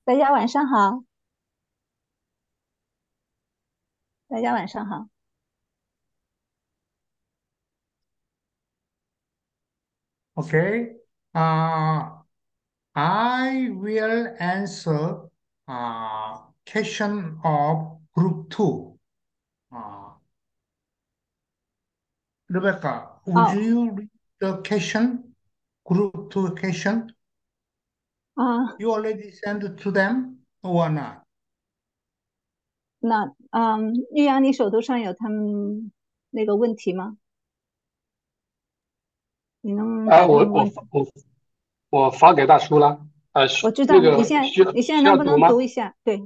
大家晚上好，大家晚上好。 Okay. Uh, I will answer question of group two. Uh, Rebecca, would 哦， you read the question, group two question? 啊， You already sent it to them or not? 那玉阳，你手头上有他们那个问题吗？你能啊， 把他我们问题？ 我我我发给大叔了，那我知道，你现在个需要你现在需能不能要读吗？ 读一下？对，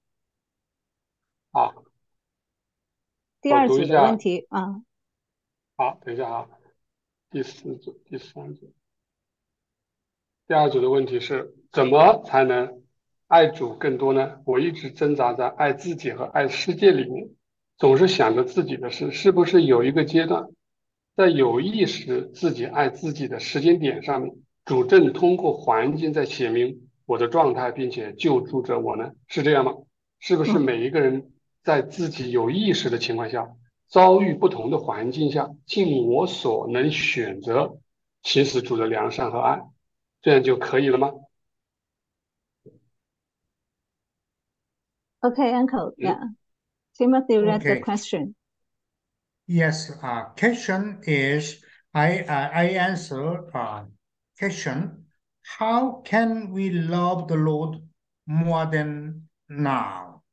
啊，我第二组的问读一下。 题啊。 好，等一下啊，第四组、第三组、第二组的问题是怎么才能爱主更多呢？我一直挣扎在爱自己和爱世界里面，总是想着自己的事，是不是有一个阶段，在有意识自己爱自己的时间点上面，主正通过环境在写明我的状态，并且救助着我呢？是这样吗？是不是嗯每一个人在自己有意识的情况下，遭遇不同的环境下，尽我所能选择行使主的良善和爱？这样就可以了吗？ ，OK，Uncle， 嗯， yeah. Timothy read the Okay. question. Yes. Question is I answer question. How can we love the Lord more than now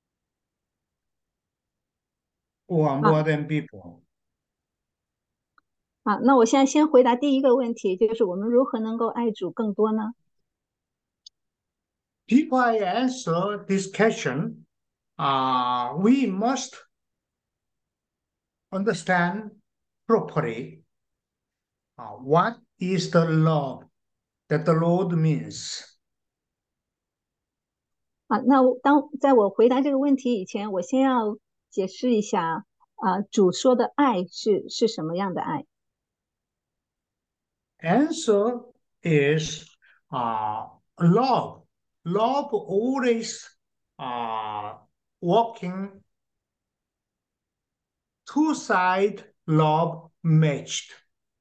or 啊 more than before? 那我现在先回答第一个问题，就是我们如何能够爱主更多呢？ Before I answer this question, we must understand properly what is the love that the Lord means. 那在我回答这个问题以前，我先要解释一下主说的爱是什么样的爱。 Answer is love. Love always uh, working two side love matched.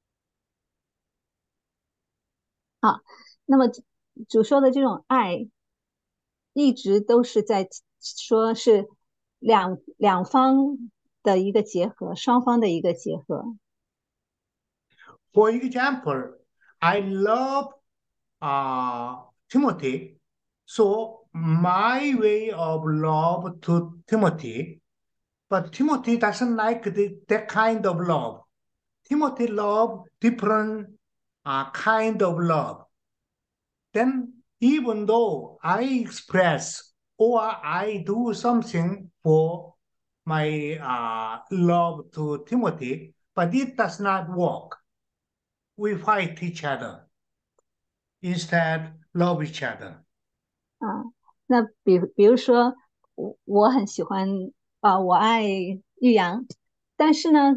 啊，那么主说的这种爱，一直都是在说是两方的一个结合，双方的一个结合。 For example, I love Timothy. So my way of love to Timothy, but Timothy doesn't like that kind of love. Timothy love different kind of love. Then even though I express or I do something for my love to Timothy, but it does not work. We fight each other instead love each other. 啊，那比如说，我很喜欢我爱玉阳，但是呢，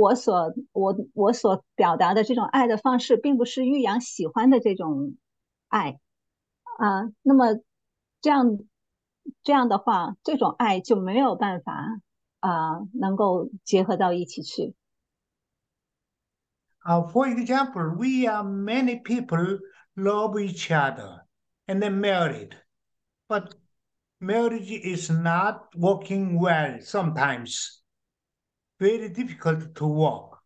我所表达的这种爱的方式，并不是玉阳喜欢的这种爱那么这样这样的话，这种爱就没有办法能够结合到一起去。 For example, we are many people love each other and then married, but marriage is not working well sometimes, very difficult to work.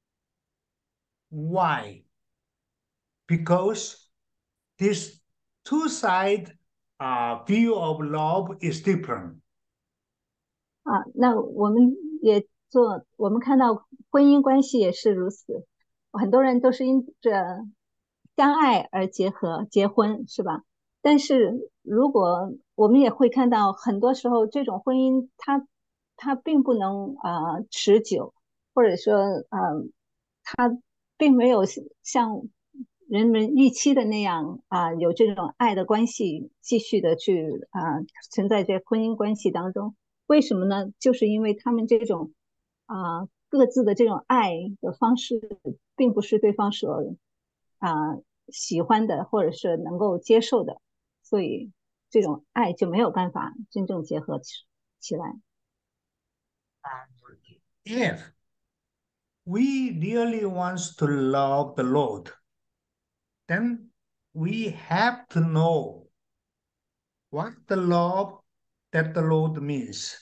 Why? Because this two side view of love is different. 那我们我们看到婚姻关系也是如此，很多人都是因着相爱而结婚，是吧？但是如果我们也会看到，很多时候这种婚姻它并不能持久，或者说它并没有像人们预期的那样有这种爱的关系继续的去存在在婚姻关系当中。为什么呢？就是因为他们这种各自的这种爱的方式，并不是对方所啊、喜欢的，或者是能够接受的，所以。 这种爱就没有办法真正结合起来。 If we really want to love the Lord, then we have to know what the love that the Lord means.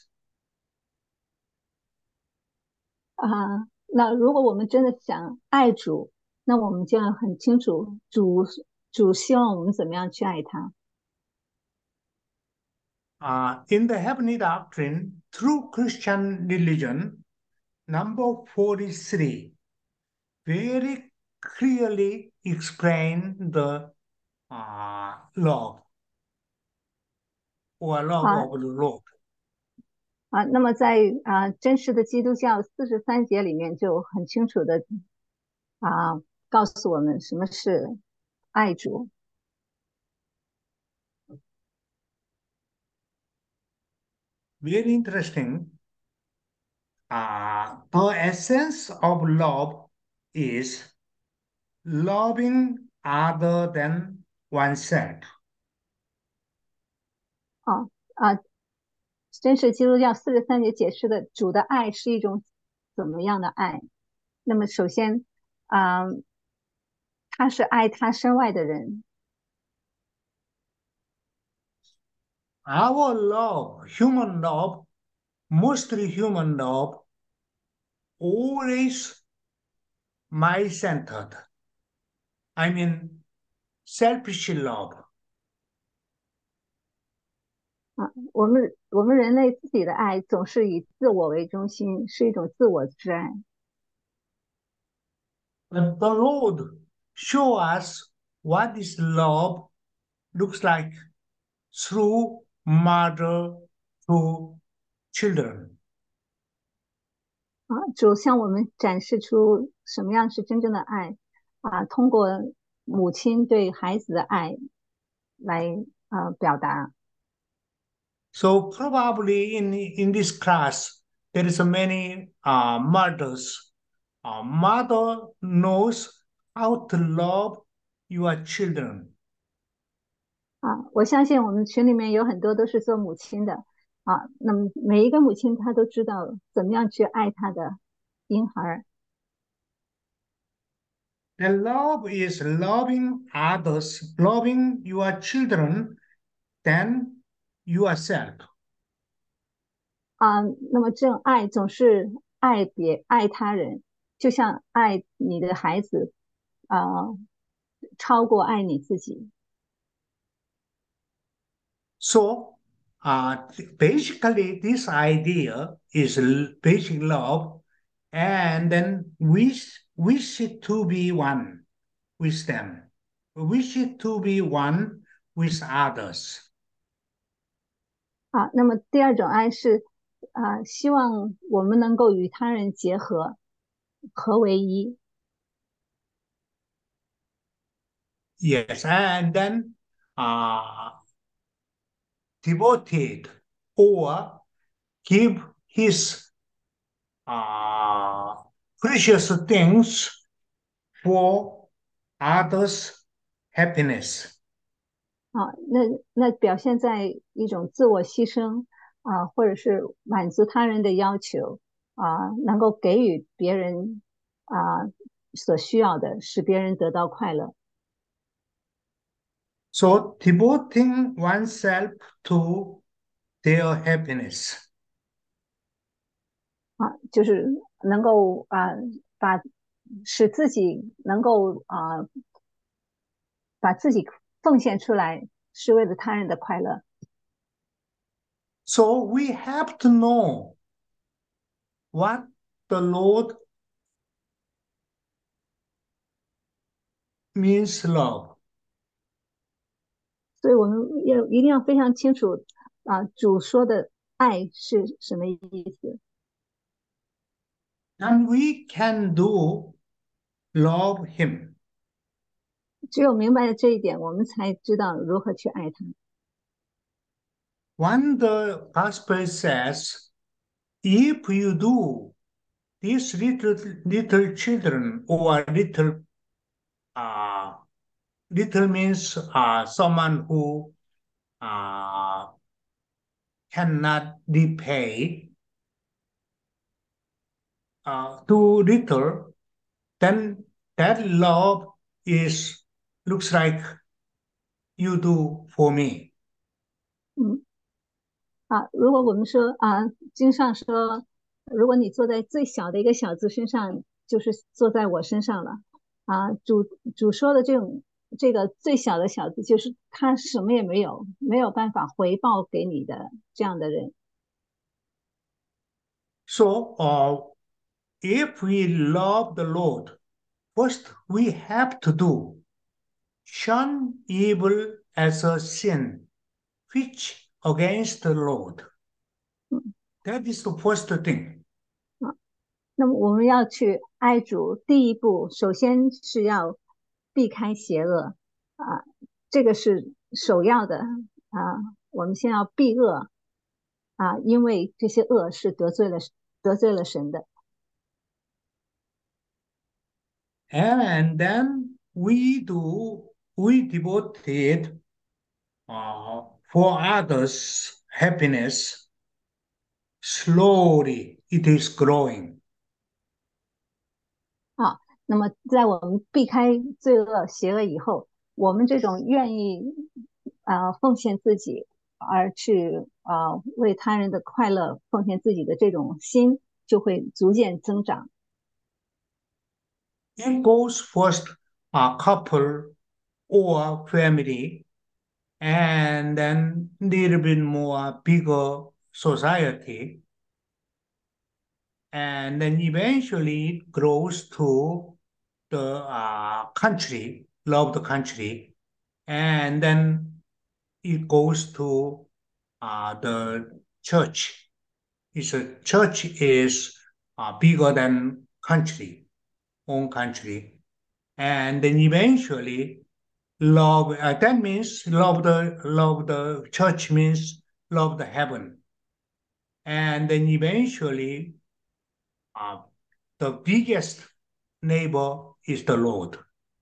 那如果我们真的想爱主，那我们就要很清楚主希望我们怎么样去爱他。 In the heavenly doctrine, through Christian religion, number 43 very clearly explain the love or love 啊 of the Lord. 那么在真实的基督教43节里面就很清楚的告诉我们什么是爱主。 Very interesting. The essence of love is loving other than oneself. 真实基督教43节解释的主的爱是一种怎么样的爱？那么首先他是爱他身外的人。 Our love, human love, mostly human love, always my-centered. I mean, selfish love. 我们人类自己的爱总是以自我为中心，是一种自我之爱。 But the Lord show us what this love looks like through mother to children. 主向我们展示出什么样是真正的爱通过母亲对孩子的爱来表达。 So probably in this class there is many mothers. Mother knows how to love your children. 我相信我们群里面有很多都是做母亲的那么每一个母亲她都知道怎么样去爱她的婴孩。 The love is loving others, loving your children, than yourself. 那么这种爱总是爱他人，就像爱你的孩子超过爱你自己。 So, basically, this idea is basic love, and then wish it to be one with them, wish it to be one with others. 那么第二种爱是希望我们能够与他人结合，合为一。 Yes, and then devoted or give his precious things for others' happiness. 那表现在一种自我牺牲或者是满足他人的要求能够给予别人所需要的，使别人得到快乐。 So devoting oneself to their happiness. 就是能够使自己能够把自己奉献出来，是为了他人的快乐。 So we have to know what the Lord means love. 所以我们一定要非常清楚主说的爱是什么意思。 And we can do love him. 只有明白了这一点，我们才知道如何去爱他。 When the gospel says, if you do, these little children or little means someone who cannot repay too little, then that love is looks like you do for me. 嗯如果我们说经上说，如果你坐在最小的一个小子身上，就是坐在我身上了主说的这个最小的小子，就是他什么也没有，没有办法回报给你的这样的人。 So, if we love the Lord, first we have to do shun evil as a sin, which against the Lord. 嗯 That is the first thing. 那么我们要去爱主，第一步首先是要避开邪恶这个是首要的我们先要避恶因为这些恶是得罪了神的。 And then we devoted for others' happiness. Slowly it is growing. 那么在我们避开罪恶邪恶以后，我们这种愿意奉献自己而去为他人的快乐奉献自己的这种心就会逐渐增长。 It goes first a couple or family, and then little bit more bigger society, and then eventually it grows to the country, love the country, and then it goes to the church. Church is bigger than own country, and then eventually love. That means love the church means love the heaven, and then eventually the biggest neighbor is the Lord.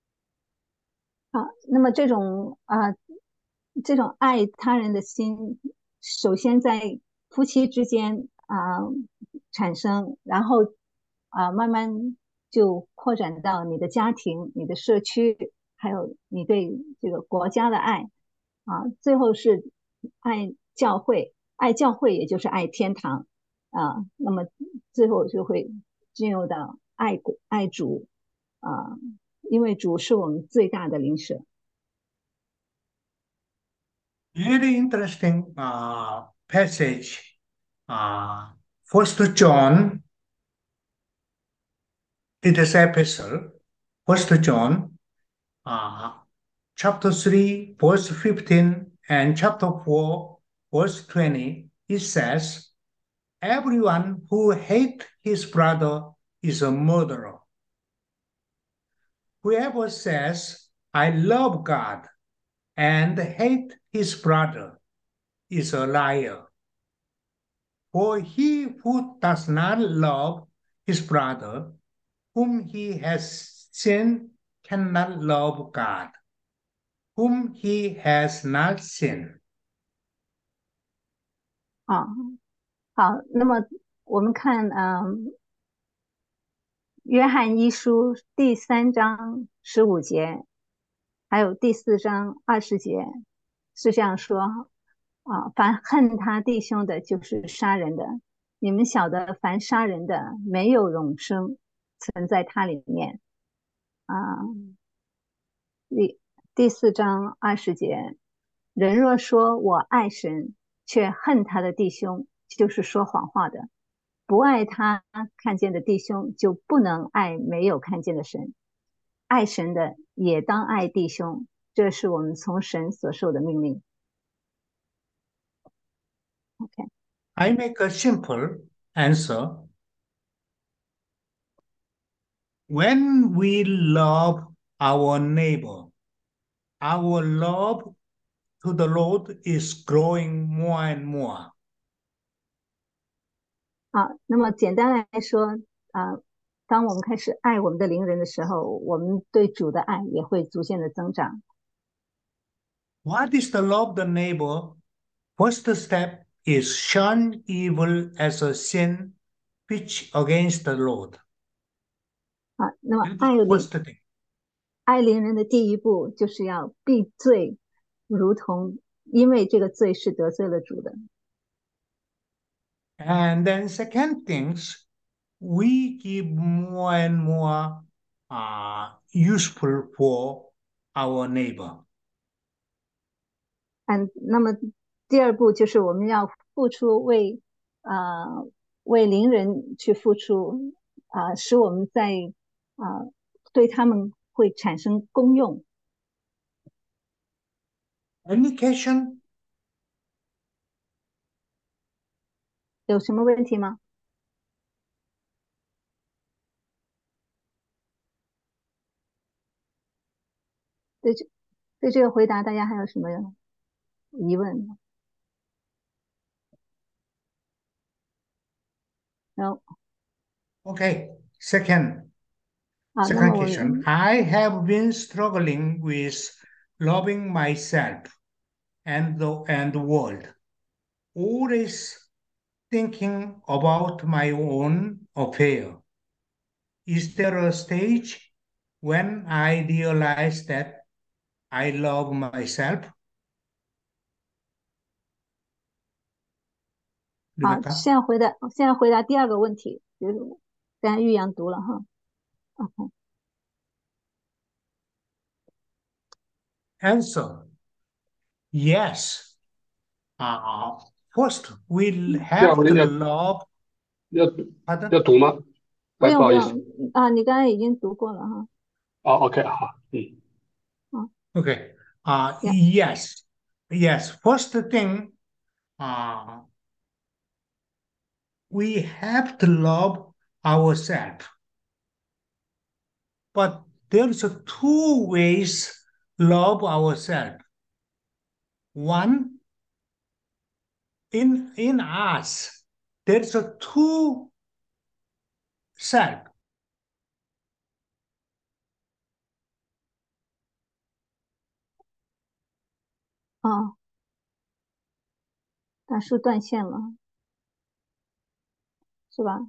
那么这种爱他人的心，首先在夫妻之间产生，然后慢慢就扩展到你的家庭、你的社区，还有你对这个国家的爱最后是爱教会，爱教会也就是爱天堂那么最后就会进入到爱主因为主是我们最大的邻舍。 Very interesting passage. First John, it is epistle. First John, chapter 3, verse 15, and chapter 4, verse 20. It says, "Everyone who hates his brother is a murderer. Whoever says, 'I love God,' and hate his brother is a liar. For he who does not love his brother, whom he has seen, cannot love God, whom he has not seen." 好，那么我们看约翰一书第3章15节，还有第4章20节是这样说凡恨他弟兄的，就是杀人的。你们晓得，凡杀人的，没有永生存在他里面啊。第4章20节，人若说我爱神，却恨他的弟兄，就是说谎话的。不爱他看见的弟兄，就不能爱没有看见的神。爱神的也当爱弟兄，这是我们从神所受的命令。OK， I make a simple answer. When we love our neighbor, our love to the Lord is growing more and more. 那么简单来说当我们开始爱我们的邻人的时候，我们对主的爱也会逐渐的增长。 What is the love the neighbor? First step is shun evil as a sin which against the Lord. 啊，那么 That is the first thing. 爱邻人的第一步就是要避罪，如同因为这个罪是得罪了主的。 And then second things, we give more and more useful for our neighbor. 那么第二步就是我们要付出为邻人去付出使我们在对他们会产生功用。 Any question? 有什么问题吗？对这个回答，大家还有什么疑问？No. Okay. Second 那么 question. I have been struggling with loving myself and the world. Always thinking about my own affair. Is there a stage when I realize that I love myself? 好，现在回答第二个问题，就是刚才玉阳读了哈。OK. Answer: Yes. First, we'll have to love. 要读吗？ 不用不好意思你刚才已经读过了哈。 OK 好 Okay. Yeah. Yes. First thing, we have to love ourselves. But there's two ways love ourselves. One, in us, there's a two self. 大叔断线了，是吧？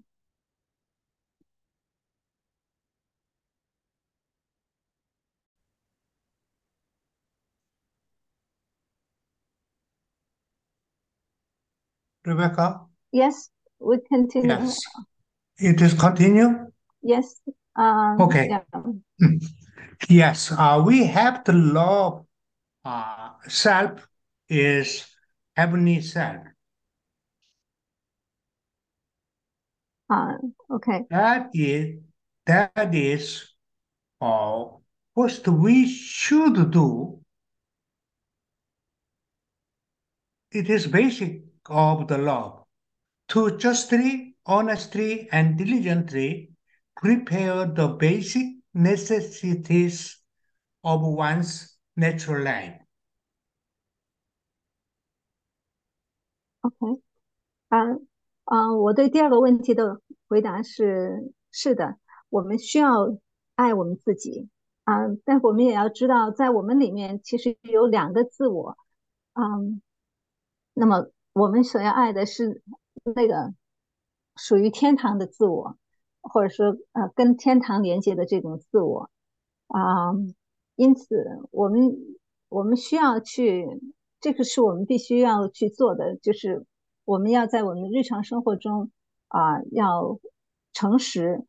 Rebecca? Yes, we continue. Yes. It is continue? Yes. Okay. Yeah. Yes. We have to love self is heavenly self. Okay. That is what we should do. It is basic of the love to justly, honestly, and diligently prepare the basic necessities of one's natural life. OK. 我对第二个问题的回答是的，我们需要爱我们自己但我们也要知道，在我们里面其实有两个自我那么我们所要爱的是那个属于天堂的自我，或者说跟天堂连接的这种自我因此我们需要去，这个是我们必须要去做的，就是我们要在我们日常生活中要诚实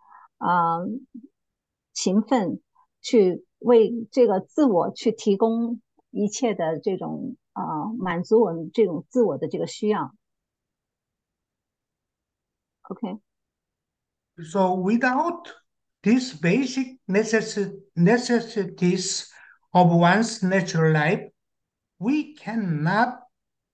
勤奋，去为这个自我去提供一切的这种满足我们这种自我的这个需要。OK. So without these basic necessities of one's natural life, we cannot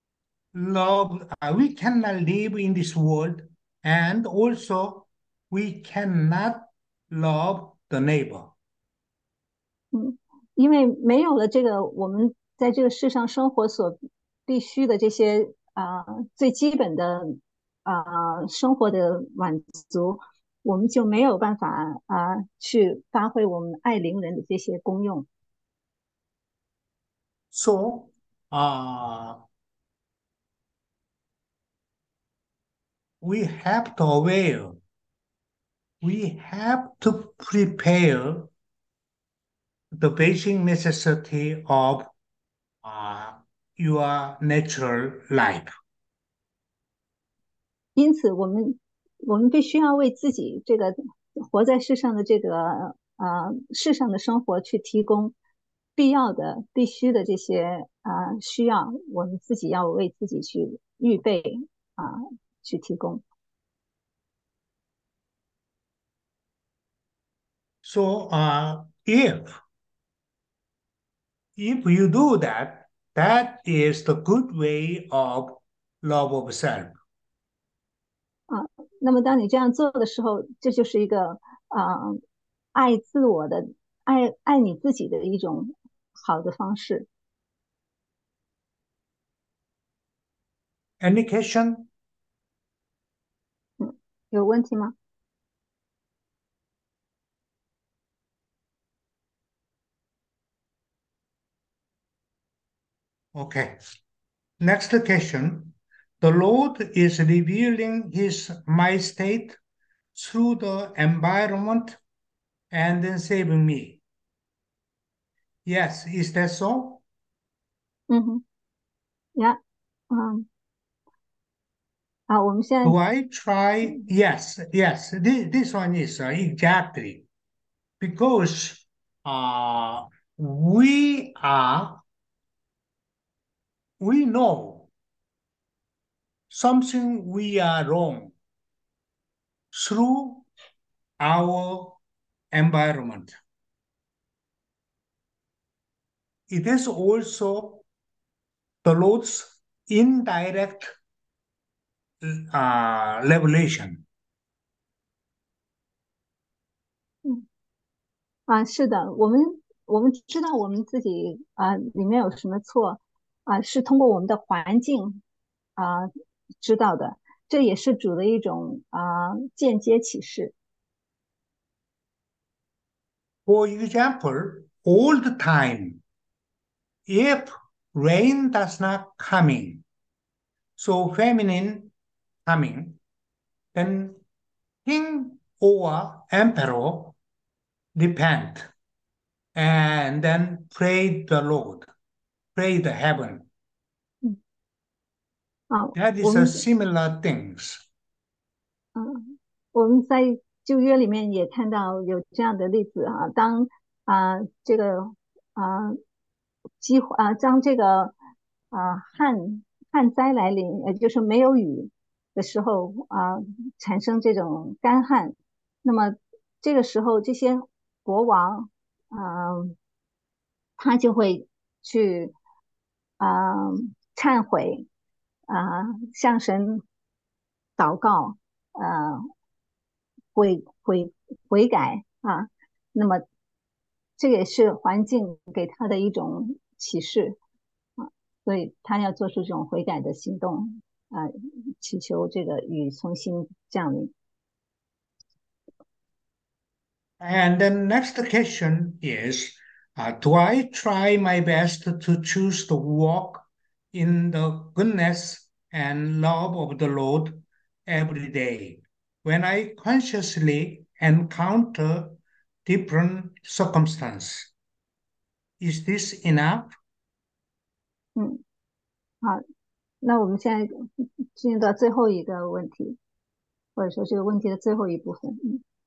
we cannot live in this world, and also we cannot love the neighbor. 因为没有了这个我们在这个世上生活所必须的这些最基本的生活的满足，我们就没有办法去发挥我们爱邻人的这些功用。 So uh, we have to aware, we have to prepare the basic necessity of your natural life. 因此，我们必须要为自己这个活在世上的这个世上的生活去提供必要的、必须的这些需要，我们自己要为自己去预备去提供。 So if you do that, that is the good way of love of self. 那么当你这样做的时候，这就是一个爱自我的、爱你自己的一种好的方式。 Any question? 有问题吗？ Okay. Next question. The Lord is revealing His my state through the environment and then saving me. Yes, is that so? 嗯哼，呀，我们现在 Do I try? Yes, yes. This one is exactly because we know something we are wrong through our environment. It is also the Lord's indirect revelation. 是的，我们知道我们自己里面有什么错是通过我们的环境知道的，这也是主的一种间接启示。 For example, all the time, if rain does not coming, so feminine coming, then king or emperor repent and then pray the Lord, pray the heaven. That 我 is 们 a similar things. 我们在旧约里面也看到有这样的例子当这个当这个旱灾来临，也就是没有雨的时候产生这种干旱，那么这个时候这些国王他就会去忏悔向神祷告悔改那么这也是环境给他的一种启示所以他要做出这种悔改的行动祈求这个雨重新降临。 And the next question is, do I try my best to choose to walk in the goodness and love of the Lord every day when I consciously encounter different circumstances? Is this enough? 好，那我们现在进入到最后一个问题，或者说这个问题的最后一部分。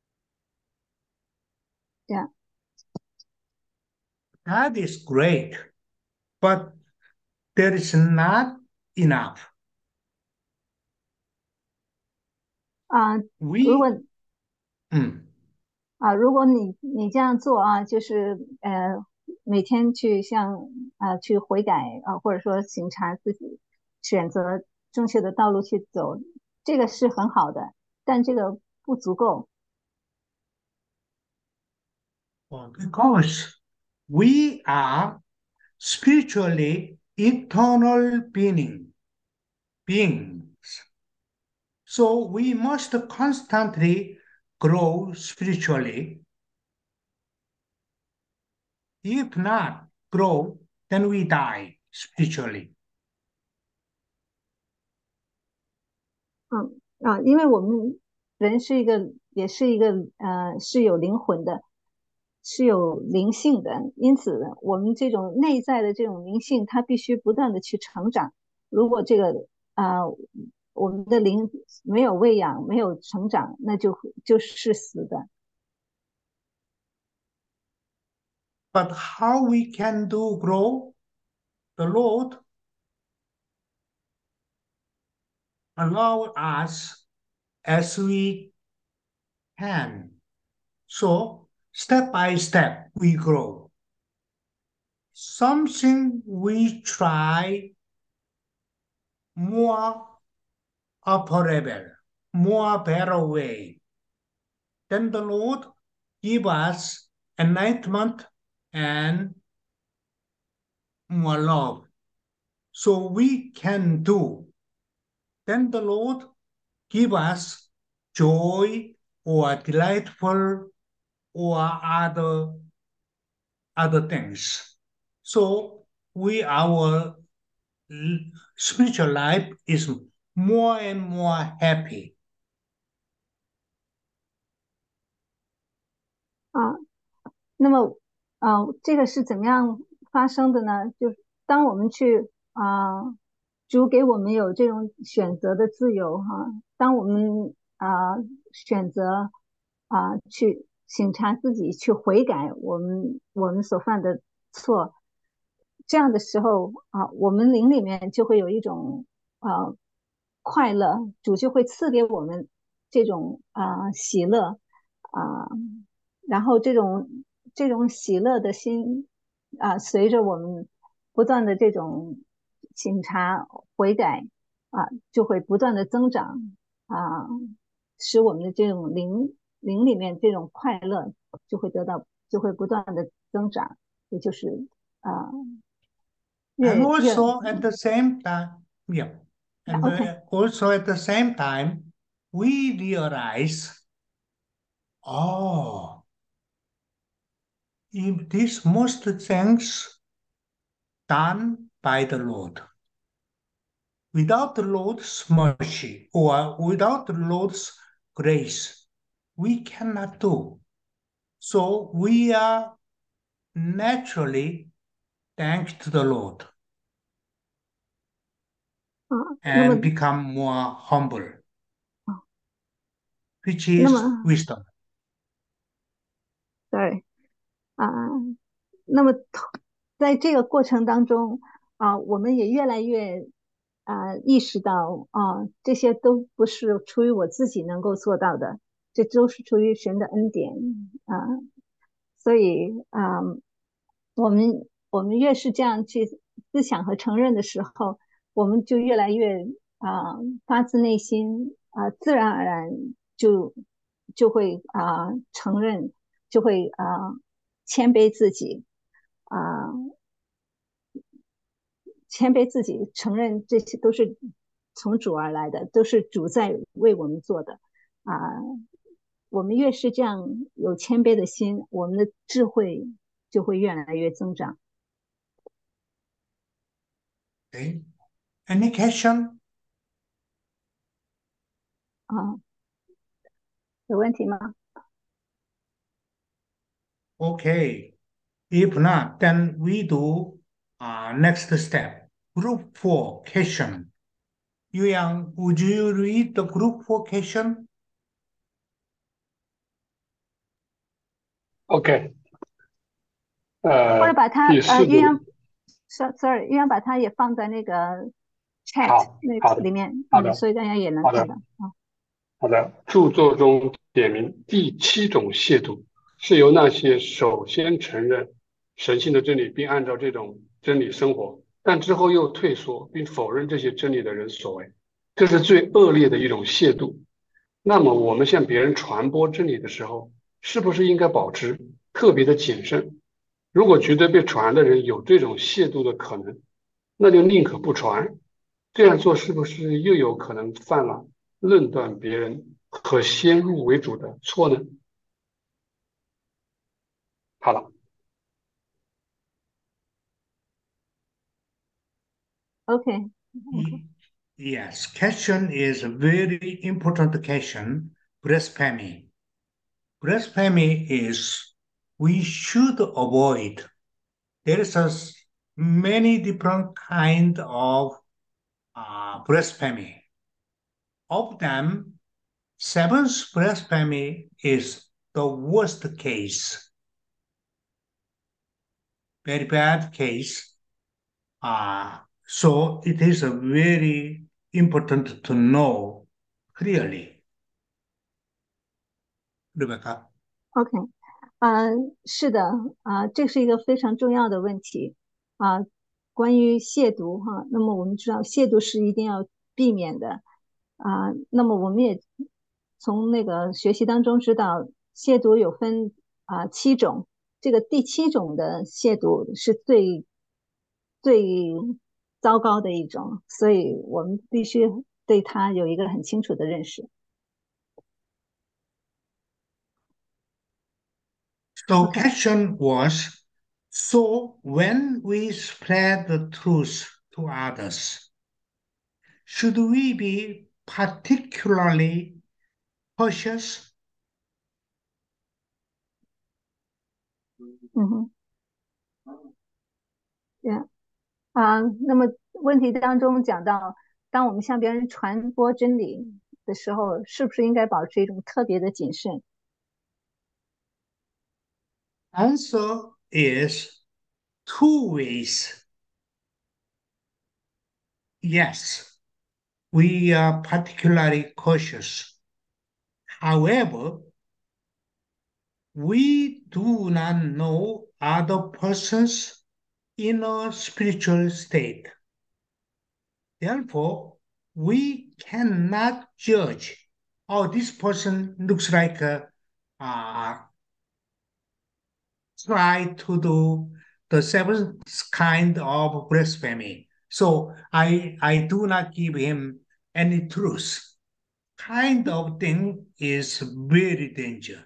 这样。 That is great, but there is not enough. 如果 We, 如果你这样做就是每天去去悔改或者说省察自己，选择正确的道路去走，这个是很好的，但这个不足够。 because we are spiritually eternal beings. So we must constantly grow spiritually. If not grow, then we die. spiritually. 因为我们人也是一个是有灵魂的，是有灵性的，因此我们这种内在的这种灵性，它必须不断的去成长。如果这个我们的灵没有喂养，没有成长，那就是死的。 But how we can do grow? The Lord allow us as we can. So step by step we grow. Something we try more upper level, more better way. Then the Lord give us enlightenment and more love. So we can do. Then the Lord give us joy or delightful or other things. So our spiritual life is more and more happy. 啊，那么这个是怎么样发生的呢？就是当我们去主给我们有这种选择的自由哈，当我们选择去省察自己，去悔改我们所犯的错，这样的时候我们灵里面就会有一种快乐，主就会赐给我们这种喜乐啊、然后这种喜乐的心随着我们不断的这种醒察悔改就会不断的增长啊、使我们的这种灵里面这种快乐就会不断的增长，也就是啊、 And 越 also at the same time, yeah, and OK also at the same time, we realize, oh, if these most things done by the Lord, without the Lord's mercy or without the Lord's grace, we cannot do. So we are naturally thanks to the Lord 那么 and become more humble, 啊 which 那 is 么 wisdom. sorry 啊、那么在这个过程当中我们也越来越意识到这些都不是出于我自己能够做到的，这都是出于神的恩典所以我们越是这样去思想和承认的时候，我们就越来越发自内心自然而然就会承认，就会谦卑自己啊、谦卑自己，承认这些都是从主而来的，都是主在为我们做的啊、我们越是这样有谦卑的心，我们的智慧就会越来越增长 Okay. Any question? 啊。有问题吗？ Okay. If not, then we do next step. Group 4 question. Yang, would you read the group 4 question? OK， 或者把它第四组， 岳阳，sorry，岳阳把它也放在那个 chat 那好的， 里面， 好的， 所以大家也能好的， 看到好的。著作中点明第七种亵渎是由那些首先承认神性的真理，并按照这种真理生活，但之后又退缩并否认这些真理的人所为，这是最恶劣的一种亵渎。那么，我们向别人传播真理的时候，是不是应该保持特别的谨慎？如果觉得被传的人有这种亵渎的可能，那就宁可不传。这样做是不是又有可能犯了论断别人和先入为主的错呢？好了， OK， Yes, question is a very important question. Blasphemy. Blasphemy is we should avoid. There is many different kind of blasphemy. Of them, seventh blasphemy is the worst case, very bad case. So it is a very important to know clearly. Rebecca. OK，是的，这是一个非常重要的问题关于亵渎哈，那么我们知道亵渎是一定要避免的那么我们也从那个学习当中知道，亵渎有分7种，这个第7种的亵渎是最糟糕的一种，所以我们必须对它有一个很清楚的认识。 So question was, so when we spread the truth to others, should we be particularly cautious? 嗯哼，对那么问题当中讲到，当我们向别人传播真理的时候，是不是应该保持一种特别的谨慎？ Answer is two ways. Yes, we are particularly cautious. However, we do not know other person's inner spiritual state. Therefore, we cannot judge, oh, this person looks like try to do the seventh kind of blasphemy. So I do not give him any truth. Kind of thing is very dangerous.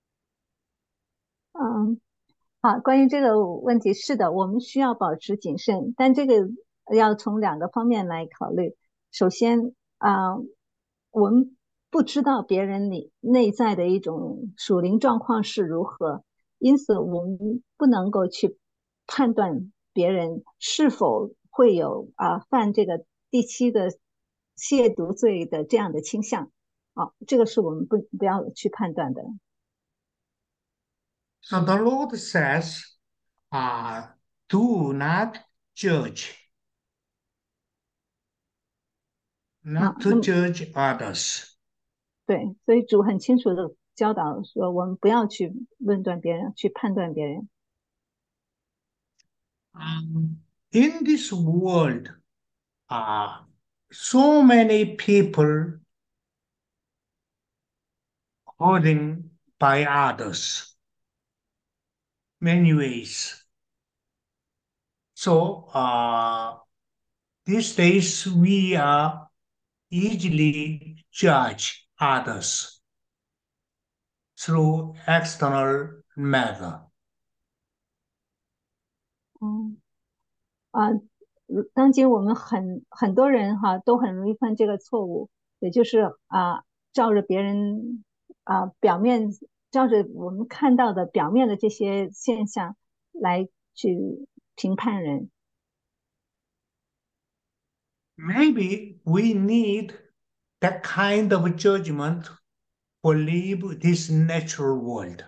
嗯，好，关于这个问题，是的，我们需要保持谨慎，但这个要从2个方面来考虑。首先我们不知道别人内在的一种属灵状况是如何，因此我们不能够去判断别人是否会有犯这个第7个亵渎罪的这样的倾向。这个是我们不要去判断的。 So the Lord says, do not judge, not to 那么 judge others. 对，所以主很清楚的教导说，我们不要去论断别人，去判断别人。 In this world, so many people hurting by others, many ways. So these days we are easily judge others through external method. 嗯当今我们很多人都很容易犯这个错误，也就是照着别人表面，照着我们看到的表面的这些现象来去评判人。 Maybe we need that kind of judgment for live this natural world.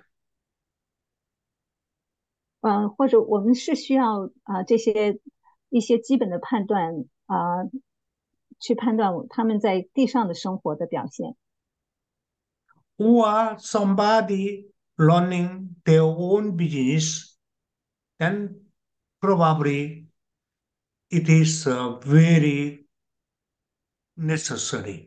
或者我们是需要这些一些基本的判断去判断他们在地上的生活的表现。 Or somebody running their own business, then probably it is very necessary.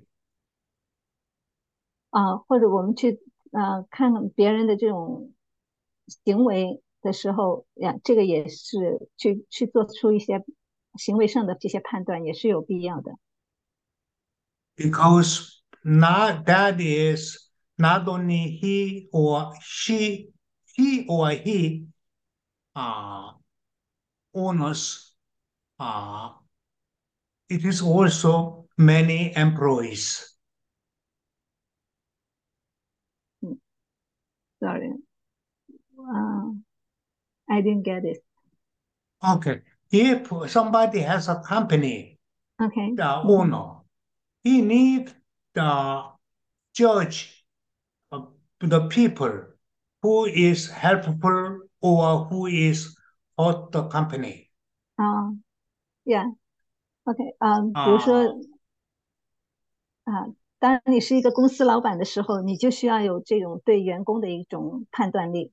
或者我们去看看别人的这种行为的时候这个也是去做出一些行为上的这些判断，也是有必要的。 Because not that is not only he or he uh, owns it is also many employees. Sorry, I didn't get it. Okay. If somebody has a company, Okay. the owner, he need the judge the people who is helpful or who is hurt the company. Yeah. OK，比如说当你是一个公司老板的时候，你就需要有这种对员工的一种判断力。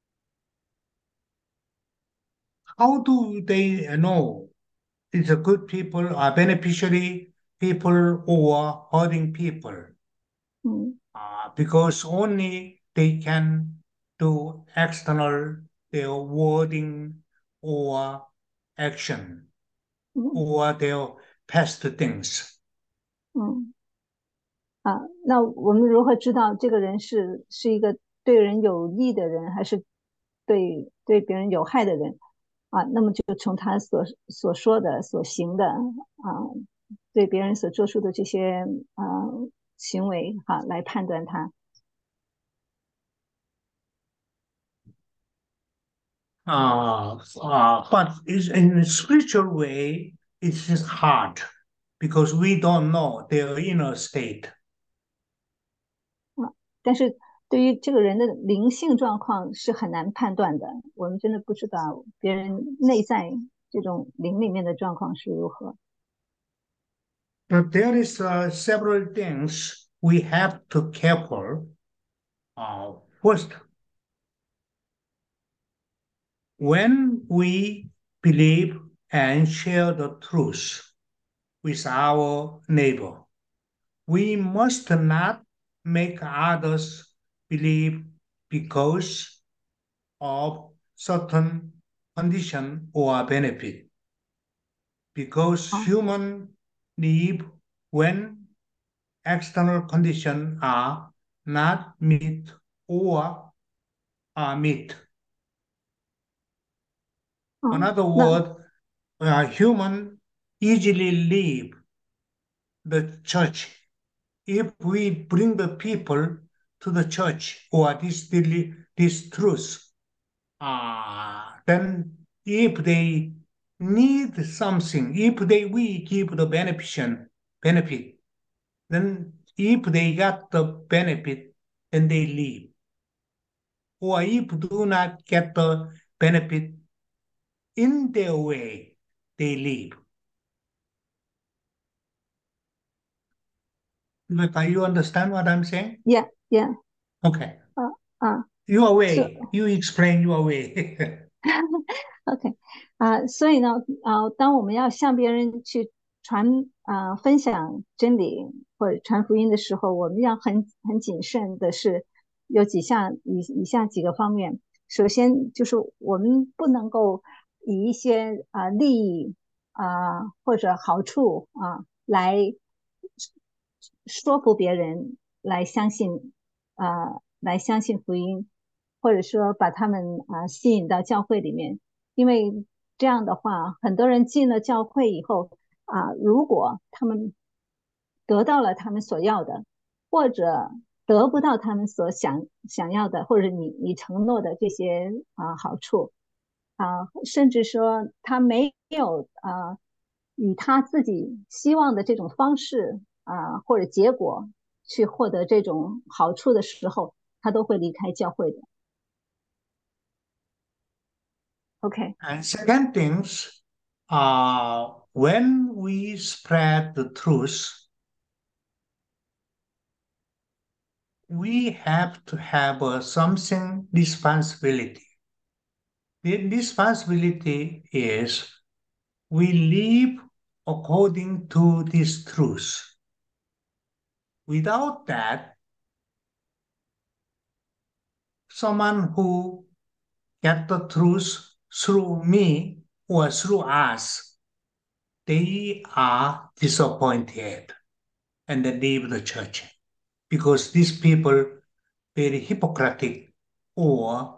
How do they know it's a good people, or beneficiary people, or hurting people? Because only they can do external their wording or action or their past things. 那我们如何知道这个人是一个对人有益的人，还是对别人有害的人？那么就从他所说的、所行的对别人所做出的这些行为来判断他。 But in a spiritual way, it is hard because we don't know their inner state. 但是对于这个人的灵性状况是很难判断的，我们真的不知道别人内在这种灵里面的状况是如何。 But there is several things we have to careful. First, when we believe and share the truth with our neighbor, we must not make others believe because of certain condition or benefit. Because humans live when external conditions are not met or are met. In other words, humans easily leave the church if we bring the people to the church or this truth. Then if they need something, if we give the benefit, then if they got the benefit, then they leave. Or if do not get the benefit in their way, they leave. You understand what I'm saying? Yeah, yeah. Okay. Your way. You explain your way. OK，所以呢，当我们要向别人去分享真理或者传福音的时候，我们要很谨慎的是有以下几个方面。首先就是我们不能够以一些利益或者好处来说服别人来相信福音，或者说把他们吸引到教会里面。因为这样的话，很多人进了教会以后如果他们得到了他们所要的，或者得不到他们所想要的，或者你承诺的这些好处甚至说他没有以他自己希望的这种方式或者结果去获得这种好处的时候，他都会离开教会的。Okay. And second things, when we spread the truth, we have to have something responsibility. The responsibility is we live according to this truth. Without that, someone who get the truth through me or through us, they are disappointed and they leave the church because these people very hypocritic or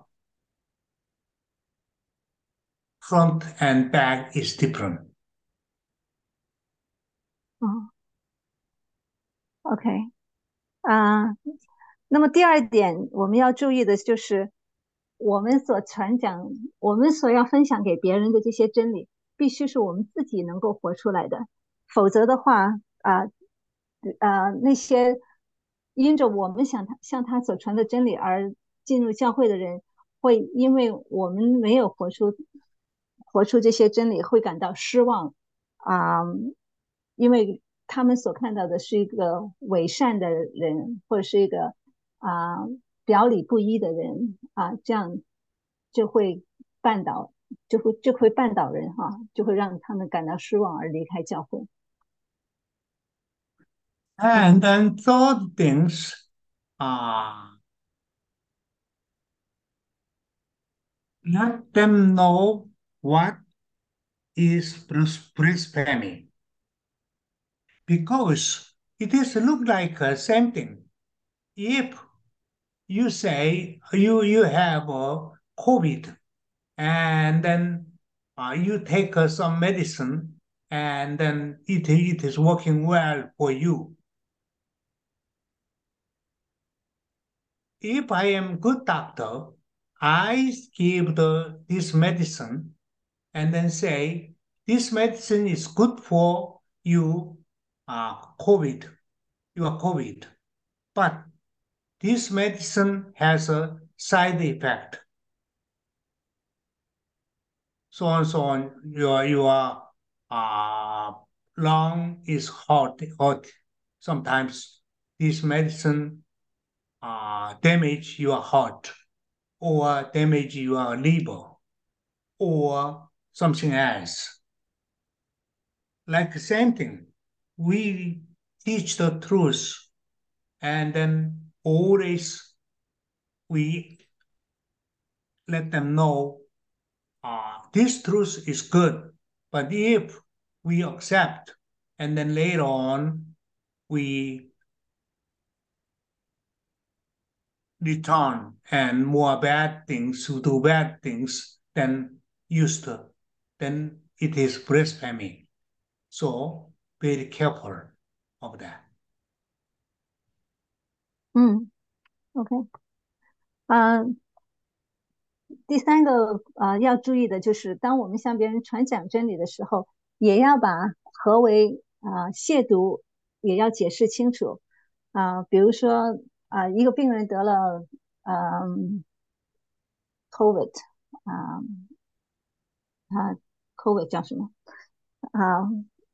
front and back is different. 嗯，OK，啊，那么第二点我们要注意的就是，我们所传讲、我们所要分享给别人的这些真理，必须是我们自己能够活出来的，否则的话，那些因着我们向他所传的真理而进入教会的人，会因为我们没有活出这些真理，会感到失望啊，因为他们所看到的是一个伪善的人，或者是一个啊、表里不一的人啊，这样就会绊倒，就会绊倒人哈，就会让他们感到失望而离开教会。 And then third things, uh, let them know what is blasphemy, because it is look like same thing. If you say you have COVID, and then you take some medicine, and then it is working well for you. If I am good doctor, I give this medicine and then say, this medicine is good for you, COVID, your COVID. But this medicine has a side effect. So on, your uh, lung is hot. Sometimes this medicine damage your heart or damage your liver or something else. Like the same thing, we teach the truth, and then always we let them know this truth is good. But if we accept, and then later on we return and more bad things, to do bad things than used to, then it is blasphemy. So very careful of that. 嗯，OK，第三个要注意的就是，当我们向别人传讲真理的时候，也要把何为亵渎也要解释清楚比如说一个病人得了COVID 啊COVID 叫什么啊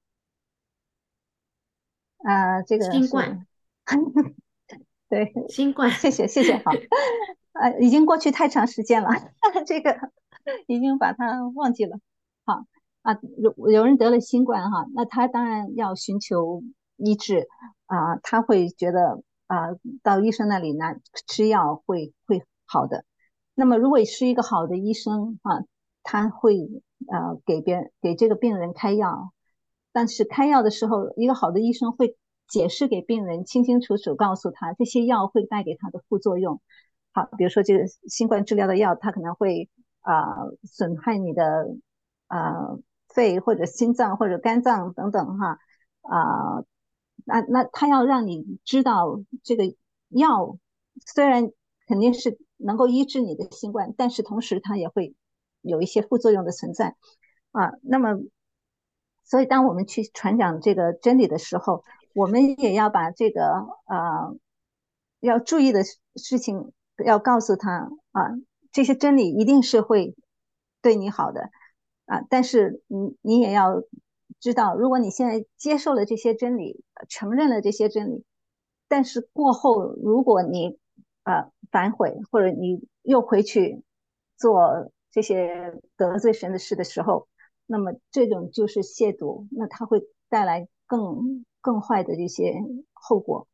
这个是新冠， 对， 新冠， 谢谢，好，已经过去太长时间了，这个已经把它忘记了。好有人得了新冠哈，那他当然要寻求医治他会觉得到医生那里拿吃药会好的。那么如果是一个好的医生他会给这个病人开药，但是开药的时候，一个好的医生会解释给病人，清清楚楚告诉他这些药会带给他的副作用。好，比如说这个新冠治疗的药，它可能会损害你的肺或者心脏或者肝脏等等那他要让你知道这个药虽然肯定是能够医治你的新冠，但是同时它也会有一些副作用的存在那么所以当我们去传讲这个真理的时候，我们也要把这个要注意的事情要告诉他这些真理一定是会对你好的但是你也要知道，如果你现在接受了这些真理，承认了这些真理，但是过后如果你反悔，或者你又回去做这些得罪神的事的时候，那么这种就是亵渎，那它会带来更坏的这些后果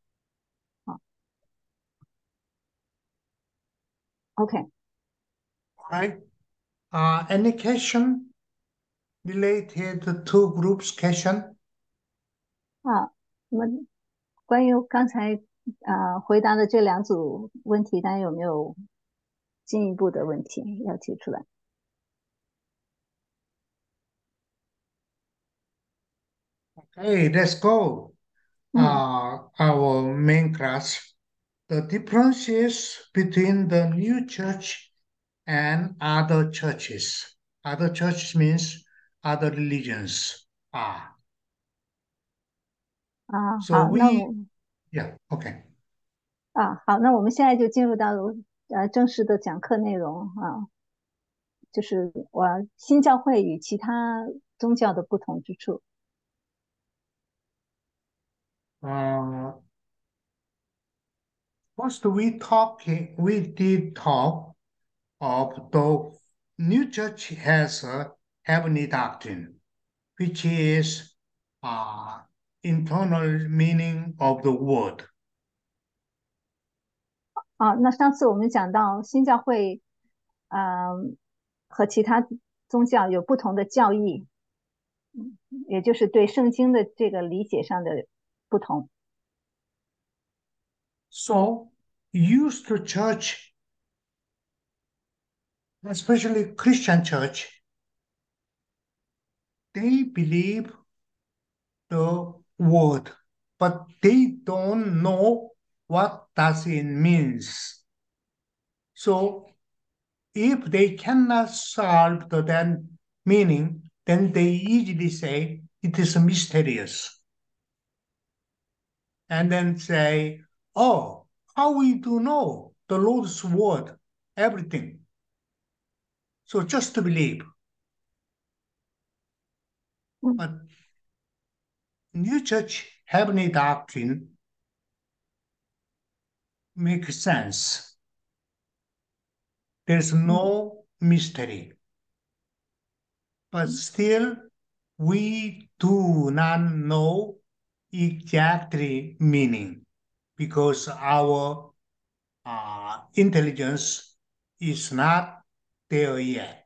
OK， Right? Any question related to groups question? 那么关于刚才回答的这两组问题，大家有没有进一步的问题要提出来 Okay. Hey, let's go. 嗯 Our main class. The differences between the new church and other churches. Other churches means other religions. So 好，那 we, 我 yeah, okay. 好，那我们现在就进入到正式的讲课内容就是新教会与其他宗教的不同之处。 Uh, First, we did talk of the new church has a heavenly doctrine, which is uh, internal meaning of the word. 那上次我们讲到新教会，和其他宗教有不同的教义，也就是对圣经的这个理解上的不同。 So, used to church, especially Christian church, they believe the word, but they don't know what does it means. So if they cannot solve the then meaning, then they easily say it is mysterious. And then say, oh, how we do know the Lord's word, everything. So just to believe. 嗯 But New Church heavenly doctrine makes sense. There's 嗯 no mystery. But 嗯 still, we do not know exactly meaning because our intelligence is not there yet.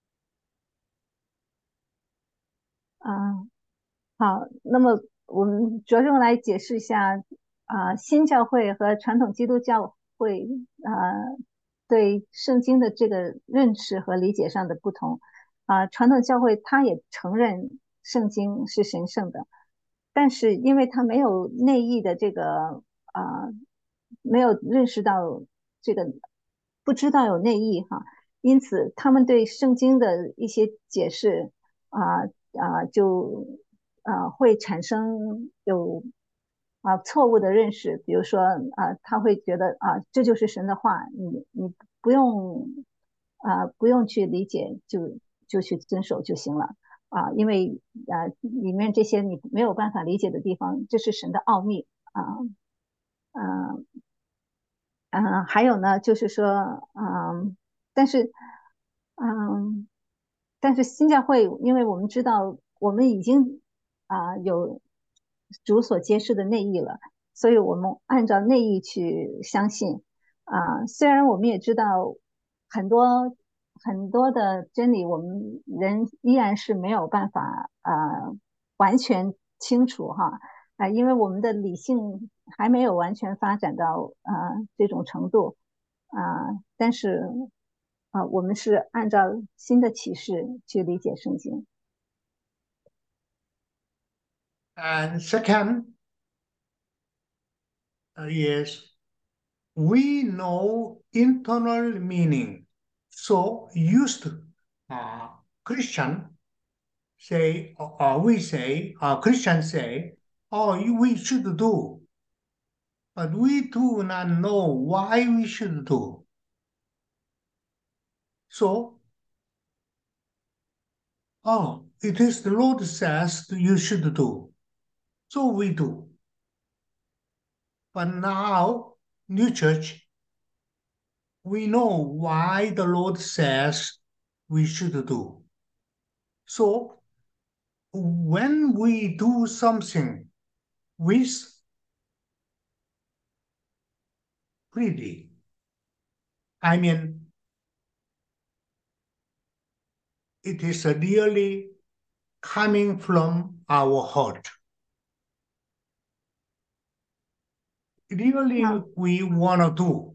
啊。好，那么我们着重来解释一下新教会和传统基督教会对圣经的这个认识和理解上的不同。传统教会它也承认圣经是神圣的，但是因为它没有内意的这个没有认识到这个，不知道有内意因此他们对圣经的一些解释就会产生错误的认识。比如说他会觉得这就是神的话，你不用不用去理解，就去遵守就行了因为里面这些你没有办法理解的地方，这是神的奥秘呃还有呢，就是说但是嗯，但是新教会，因为我们知道我们已经有主所揭示的内意了，所以我们按照内意去相信虽然我们也知道很多很多的真理，我们人依然是没有办法完全清楚因为我们的理性还没有完全发展到这种程度但是我们是按照新的启示去理解圣经。 And second is we know internal meaning. So used Christian say, we say, Christians say, oh, we should do, but we do not know why we should do. So, oh, it is the Lord says you should do. So we do. But now, new church, we know why the Lord says we should do. So when we do something with freely, I mean, it is really coming from our heart. Really, 啊 we want to do.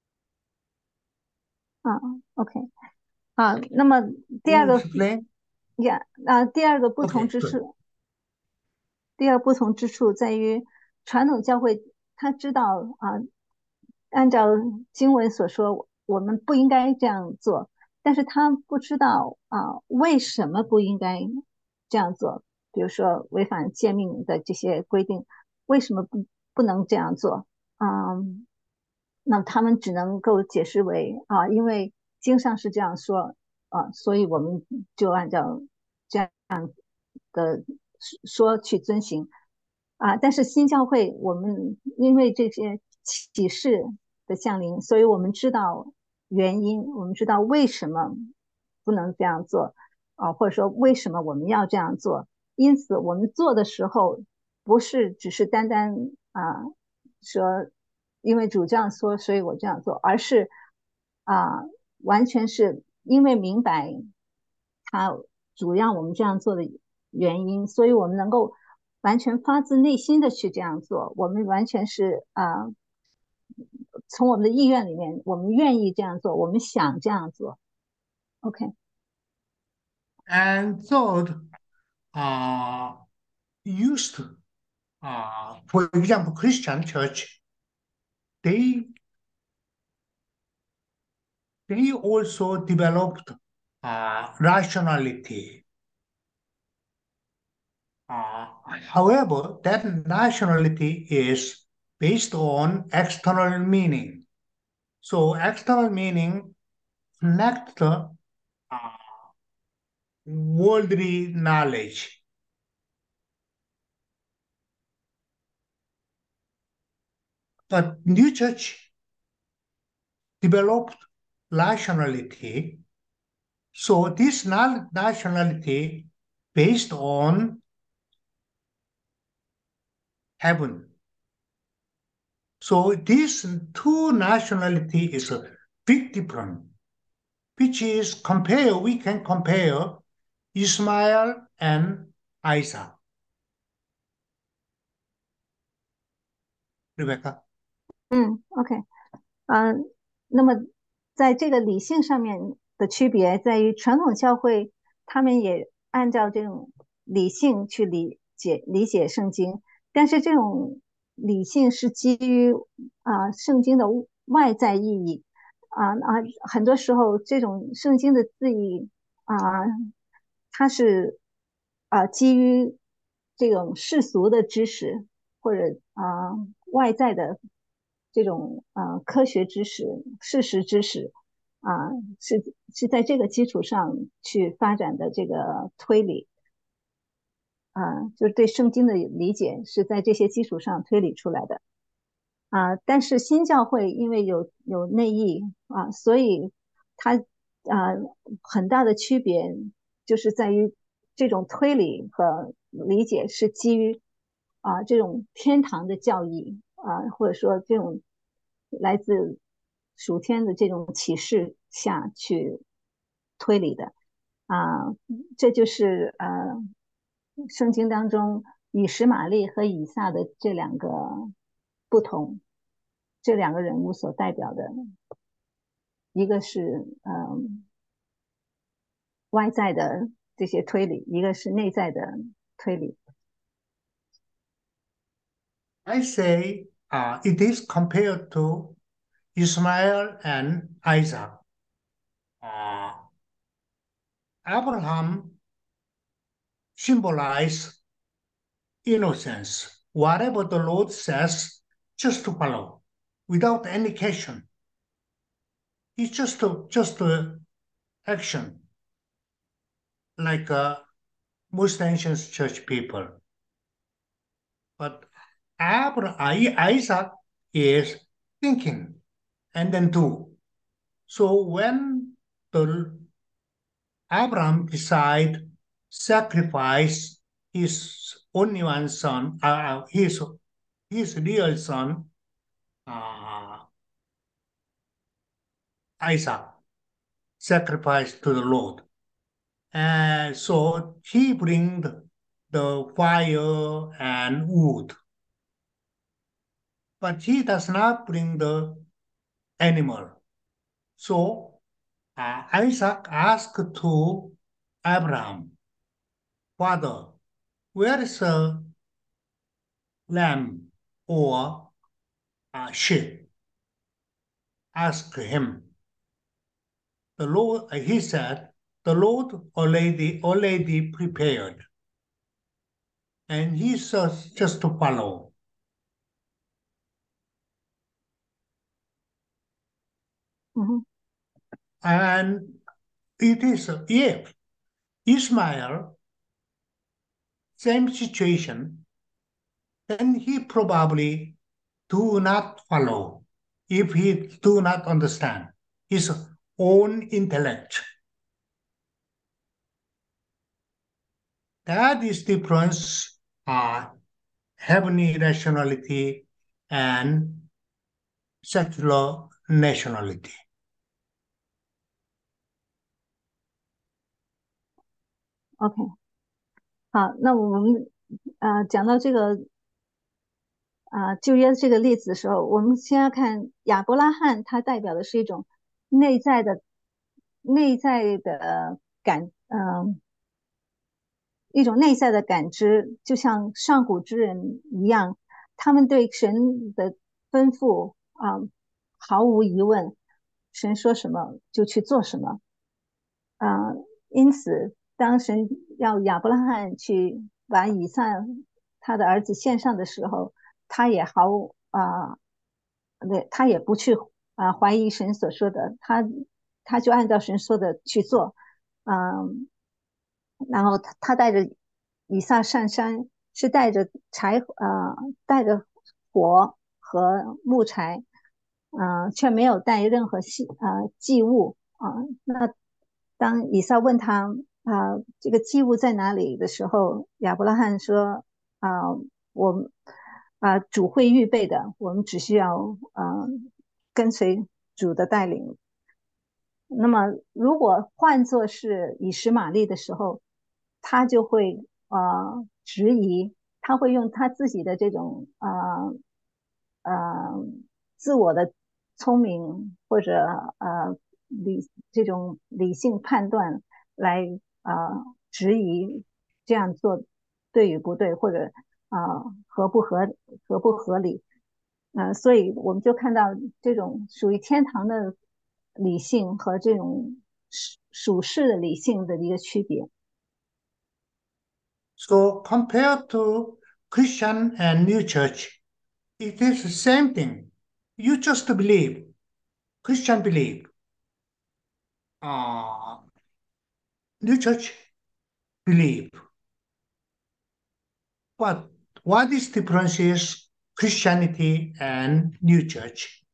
啊，OK，那么第 Can 二 you 个 explain? 第二个不同 Okay, 之 good. 处，第二不同之处在于，传统教会他知道按照经文所说，我们不应该这样做，但是他不知道为什么不应该这样做。比如说违反诫命的这些规定，为什么不能这样做？那他们只能够解释为因为经上是这样说所以我们就按照这样的说去遵行但是新教会我们因为这些启示的降临，所以我们知道原因，我们知道为什么不能这样做或者说为什么我们要这样做。因此，我们做的时候不是只是单单说因为主这样说，所以我这样做，而是啊、完全是因为明白他主让我们这样做的原因，所以我们能够完全发自内心的去这样做。我们完全是从我们的意愿里面，我们愿意这样做，我们想这样做。OK， And third, used, for example, Christian church, they they also developed rationality. However, that rationality is based on external meaning. So external meaning connect the worldly knowledge. But new church developed rationality. So this rationality based on heaven. So these two nationality is a big difference, which is we can compare Ismail and Isaac. Rebecca. OK，那么在这个理性上面的区别在于，传统教会他们也按照这种理性去理解圣经，但是这种理性是基于圣经的外在意义很多时候这种圣经的字义啊、它是基于这种世俗的知识或者外在的这种科学知识、事实知识啊、是在这个基础上去发展的这个推理就是对圣经的理解是在这些基础上推理出来的但是新教会因为有内义所以它很大的区别就是在于这种推理和理解是基于这种天堂的教义或者说这种来自属天的这种启示下去推理的这就是圣经当中以实玛利和以撒的这两个不同，这两个人物所代表的，一个是外在的这些推理，一个是内在的推理。 I say it is compared to Ismail and Isaac. Abraham symbolized innocence. Whatever the Lord says, just to follow, without any question. It's just a action, like most ancient church people. But Isaac is thinking and then do. So when the Abraham decide sacrifice his only one son, his real son, uh, Isaac, sacrifice to the Lord. And so he bring the fire and wood, but he does not bring the animal. So Isaac asked to Abraham, Father, where is a lamb or a sheep? Asked him. He said, the Lord already prepared, and he says just to follow. And it is if Ishmael, same situation, then he probably do not follow if he do not understand his own intellect. That is difference heavenly rationality and secular nationality. OK， 好，那我们讲到这个旧约这个例子的时候，我们先要看亚伯拉罕，它代表的是一种内在的一种内在的感知，就像上古之人一样，他们对神的吩咐毫无疑问，神说什么就去做什么因此当神要亚伯拉罕去把以撒他的儿子献上的时候，他也他也不去怀疑神所说的，他就按照神说的去做然后他带着以撒上山，是带着带着火和木柴却没有带任何祭物那当以撒问他这个祭物在哪里的时候，亚伯拉罕说我们主会预备的，我们只需要跟随主的带领。那么如果换作是以实玛利的时候，他就会质疑，他会用他自己的这种自我的聪明或者这种理性判断来质疑这样做对与不对，或者合不合理所以我们就看到这种属于天堂的理性和这种属世的理性的一个区别。 So compared to Christian and New Church, it is the same thing. You just believe, Christian believe, New Church believe. But what is difference is Christianity and New Church?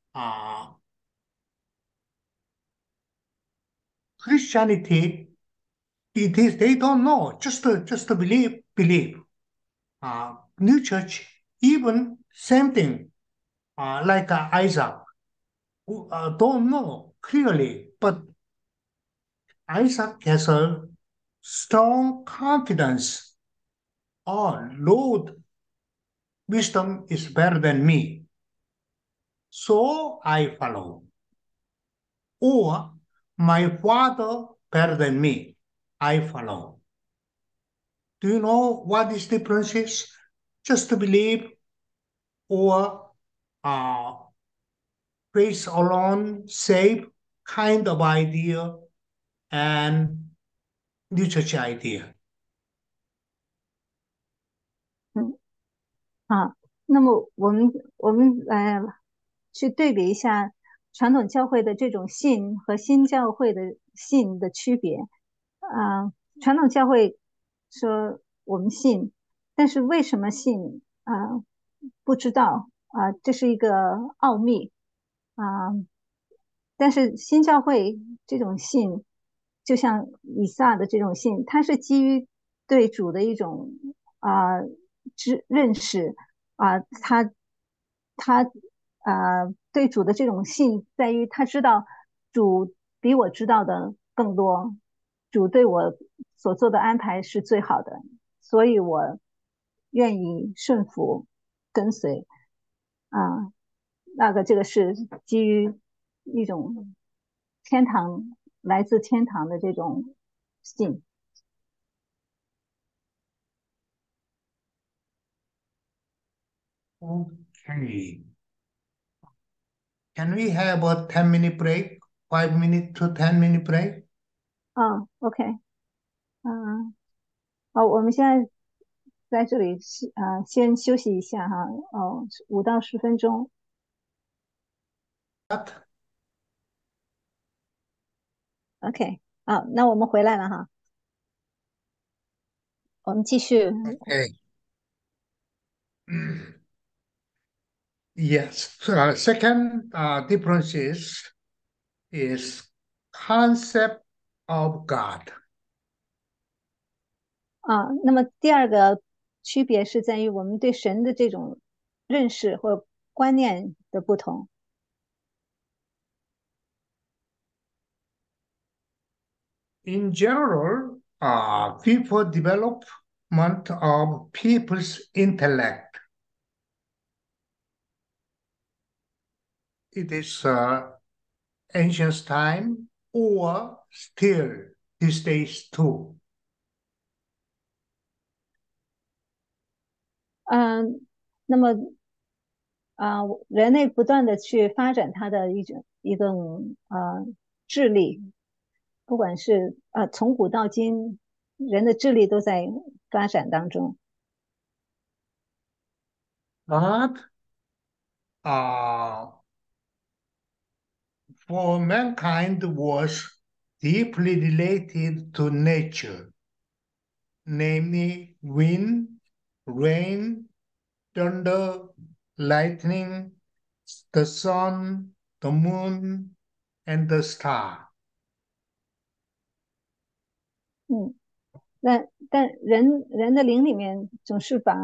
Christianity, it is they don't know, just believe. New Church, even same thing, like Isaac, who don't know clearly, but Isaac has a strong confidence. Oh, Lord, wisdom is better than me, so I follow. Or my father better than me, I follow. Do you know what this difference is? Just to believe or grace alone, save kind of idea and New Church idea. 那么我们去对比一下传统教会的这种信和新教会的信的区别传统教会说我们信，但是为什么信不知道这是一个奥秘但是新教会这种信，就像以撒的这种信，它是基于对主的一种认识他对主的这种信在于他知道主比我知道的更多，主对我所做的安排是最好的，所以我愿意顺服跟随这个是基于一种来自天堂的这种信。 Okay. Can we have a 10-minute break? 5 minute to 10-minute break? OK，好，我们现在在这里先休息一下哈，5到10分钟。 What? OK，那我们回来了哈，我们继续。 Okay. Yes. Second difference is concept of God. 那么第二个区别是在于我们对神的这种认识或观念的不同。 In general, people development of people's intellect. It is ancient time or still these days too. 那么人类不断的去发展他的一种智力，不管是从古到今，人的智力都在发展当中。 But uh, for mankind was deeply related to nature, namely wind, rain, thunder, lightning, the sun, the moon, and the star. 嗯，但人的灵里面总是把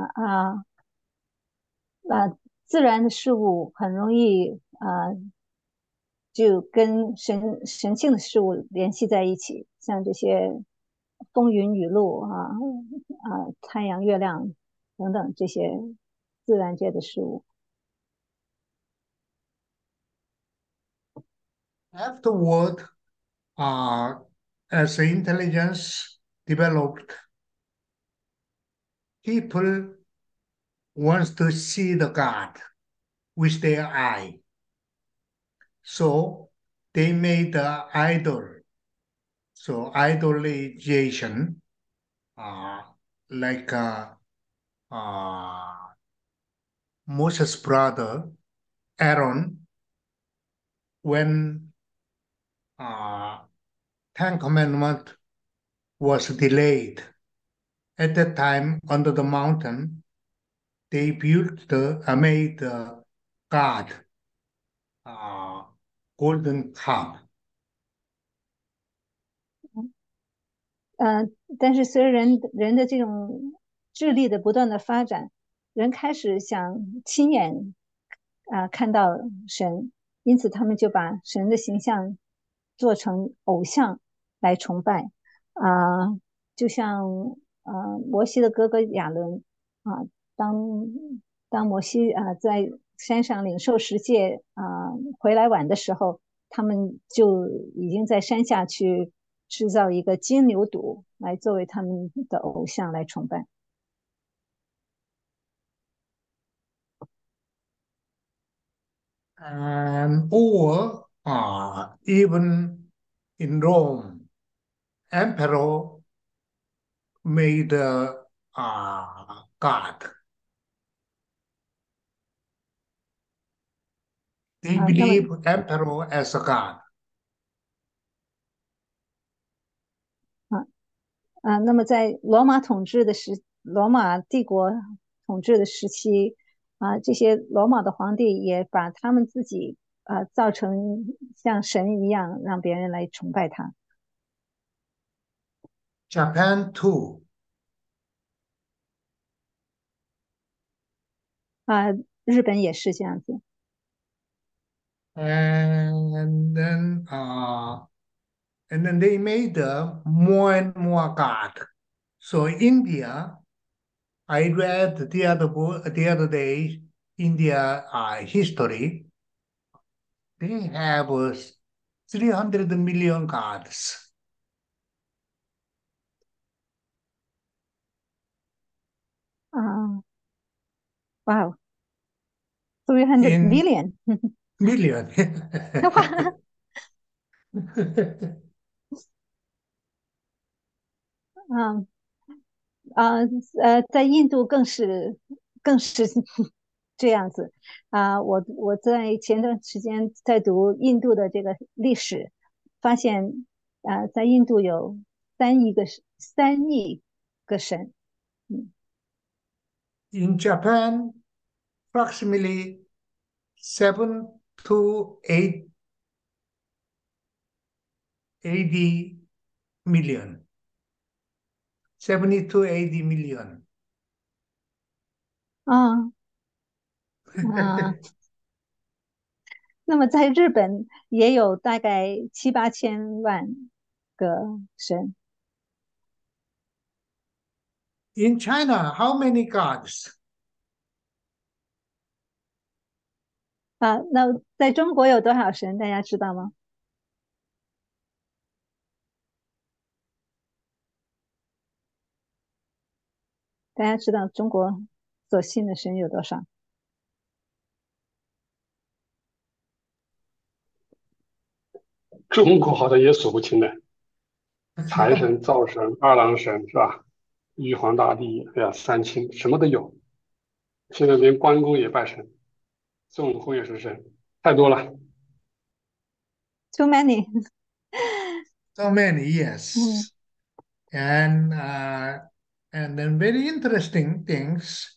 自然的事物很容易就跟神性的事物联系在一起，像这些风云雨露太阳、月亮等等这些自然界的事物。 Afterward, uh, as intelligence developed, people wants to see the God with their eye. So they made the idol. So idolization, uh, like uh, Moses' brother Aaron, when uh, Ten Commandment was delayed. At that time, under the mountain, they made the God uh, golden cup. 但是随着人的这种智力的不断的发展，人开始想亲眼看到神，因此他们就把神的形象做成偶像来崇拜就像摩西的哥哥亚伦当摩西在山上领受十诫回来晚的时候，他们就已经在山下去制造一个金牛犊来作为他们的偶像来崇拜。 Or even in Rome, emperor made God. They 那么 believe emperor as a God. 那么在罗马帝国统治的时期这些罗马的皇帝也把他们自己造成像神一样，让别人来崇拜他。 Japan too. 日本也是这样子。 And then they made more and more God. So India, I read the other day, India history. They have 300 million gods. 啊，哇哦， 300 in million. million. 哇，嗯在印度更是这样子我在前段时间在读印度的这个历史，发现在印度有3亿个神。嗯 In Japan, approximately 7 to 8 80 million. 70 to 80 million. 啊啊，那么在日本也有大概7、8千万个神。 In China, how many gods? 那在中国有多少神？大家知道吗？大家知道中国所信的神有多少？ 中国好像也数不清的，财神、灶神、二郎神是吧？玉皇大帝，哎呀，三清什么都有。现在连关公也拜神，孙悟空也是神，太多了。 Too many So many, 嗯 yes. And and then very interesting things.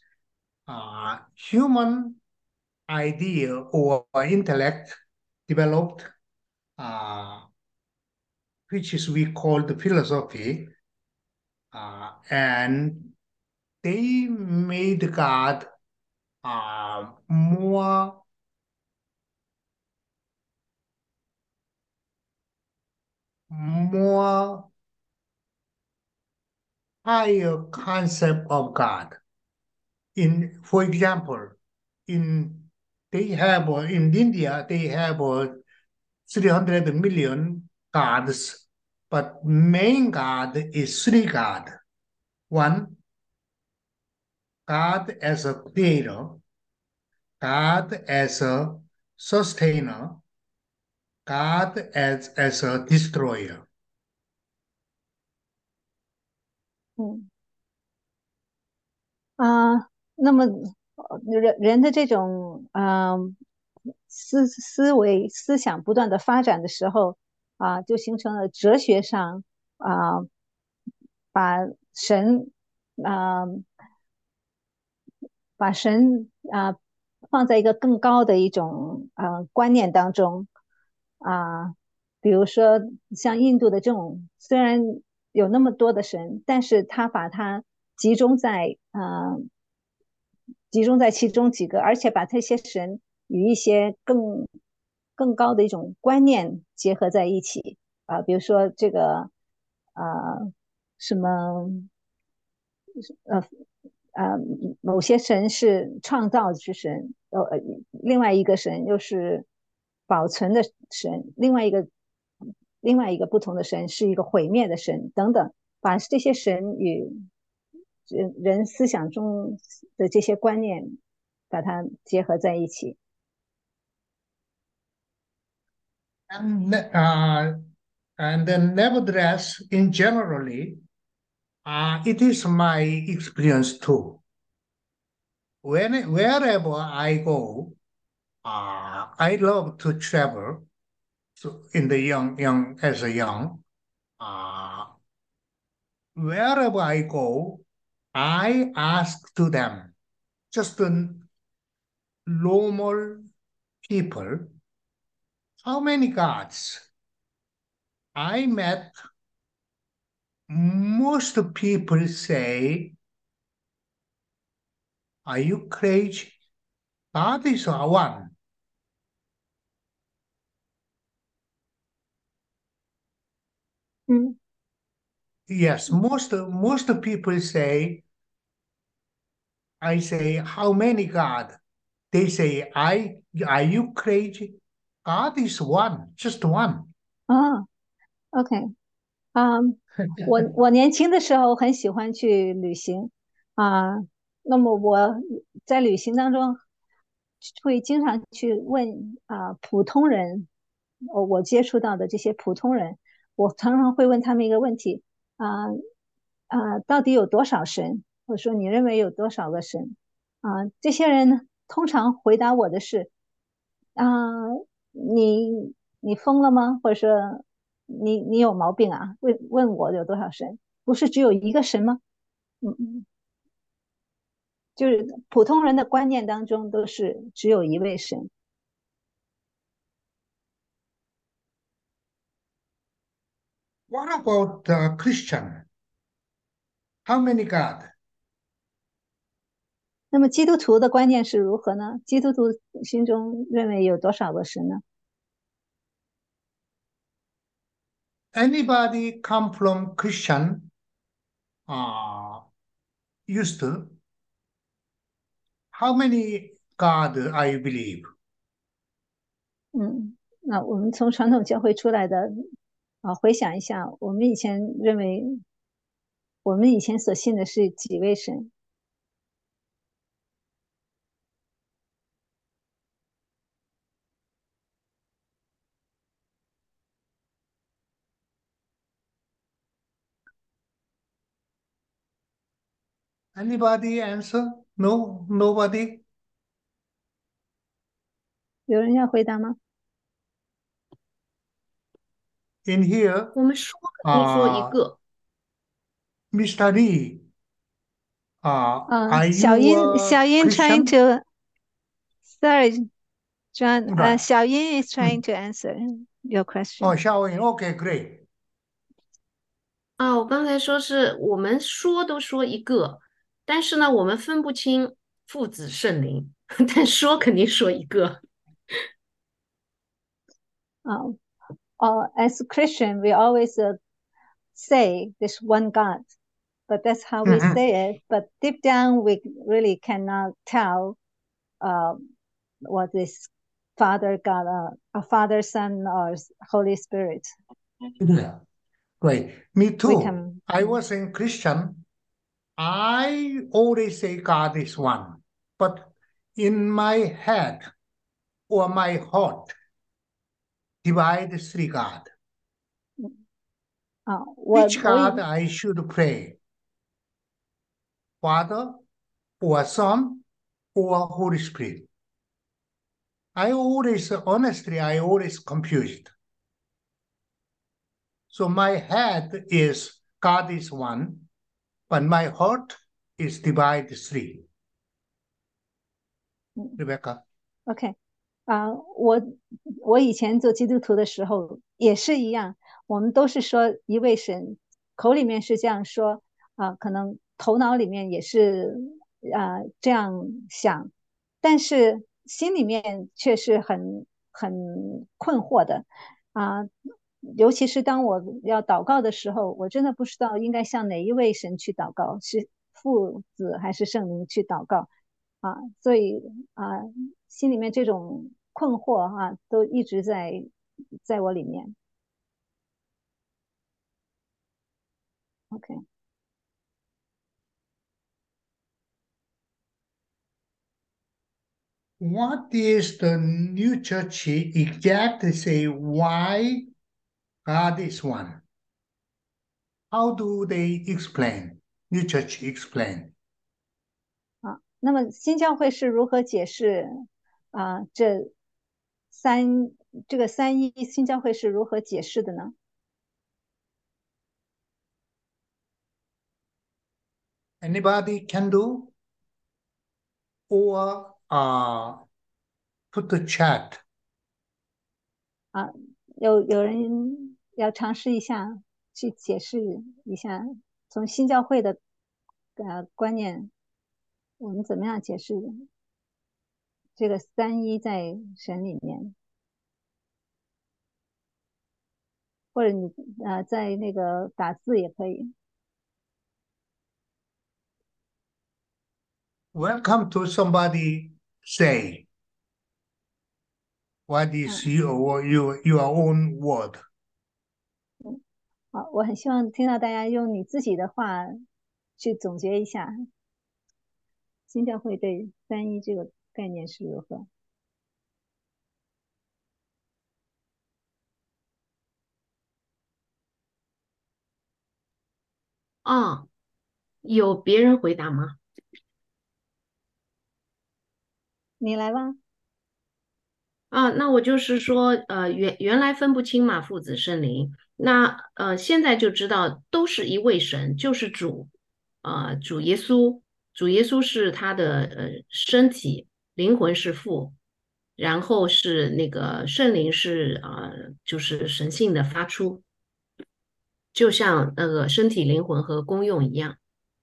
Human idea or intellect developed, uh, which is we call the philosophy, and they made God more higher concept of God. For example, in in India they have 300 million gods, but main God is three God. One, God as a creator, God as a sustainer, God as a destroyer. 嗯那么人的这种思维思想不断的发展的时候就形成了哲学上啊、把神啊、把神放在一个更高的一种观念当中比如说像印度的这种，虽然有那么多的神，但是他把它集中在集中在其中几个，而且把这些神与一些更高的一种观念结合在一起比如说这个什么呃呃某些神是创造之神，另外一个神又是保存的神，另外一个不同的神是一个毁灭的神等等，把这些神与人思想中的这些观念把它结合在一起。 And, and then nevertheless, in generally, it is my experience too. Wherever I go, I love to travel. So in the young as a young, uh, wherever I go, I ask to them, just the normal people, how many gods? I met most people say, are you crazy? God is one. 嗯 Yes, most people say, I say, how many God? They say, are you crazy? God is one, just one. OK 我年轻的时候很喜欢去旅行啊，那么我在旅行当中会经常去问普通人，我接触到的这些普通人，我常常会问他们一个问题啊到底有多少神？或者说你认为有多少个神？这些人呢，通常回答我的是啊、你疯了吗？或者说你有毛病啊？问我有多少神？不是只有一个神吗？嗯，就是普通人的观念当中都是只有一位神。 What about Christian? How many God? 那么基督徒的观念是如何呢？基督徒心中认为有多少个神呢？ Anybody come from Christian uh, used to? How many God I believe? 那我们从传统教会出来的回想一下，我们以前认为，我们以前所信的是几位神？ Anybody answer? No, nobody. 有人要回答吗？ In here, 我们说肯定说一个， Mr. Lee, are 小 you 英， a 小英 trying Christian? to sorry John Right. 小英 is trying to answer your question. Oh, Xiaoyin. Okay, great. 啊，我刚才说是我们说都说一个，但是呢，我们分不清父子圣灵，但说肯定说一个。 As Christian, we always say this one God, but that's how we Mhm. say it. But deep down, we really cannot tell uh, what is Father God, a Father, Son, or Holy Spirit. Yeah. Great. Me We too. can. I was in Christian. I always say God is one, but in my head or my heart, divide three God. 我 Which 我 God I should pray? Father or Son or Holy Spirit? I always confused. So my head is God is one, but my heart is divided three. Rebecca. OK 我以前做基督徒的时候也是一样，我们都是说一位神，口里面是这样说可能头脑里面也是这样想，但是心里面却是很困惑的啊、尤其是当我要祷告的时候，我真的不知道应该向哪一位神去祷告，是父子还是圣灵去祷告所以心里面这种困惑都一直在我里面。OK， What is the new church exactly say why God is one? How do they explain? New church explain. 那么新教会是如何解释这这个三一新教会是如何解释的呢？ Anybody can do? Or put the chat. 有人要尝试一下去解释一下，从新教会的观念，我们怎么样解释这个三一在神里面？或者你在那个打字也可以。 Welcome to somebody say. What is your own word? 好，我很希望听到大家用你自己的话去总结一下新教会对三一这个概念是如何。 啊，有别人回答吗？ 你来吧。 啊，那我就是说，原来分不清嘛，父子圣灵。那现在就知道都是一位神，就是主，主耶稣，主耶稣是他的身体，灵魂是父，然后是那个圣灵是就是神性的发出，就像那个身体、灵魂和功用一样。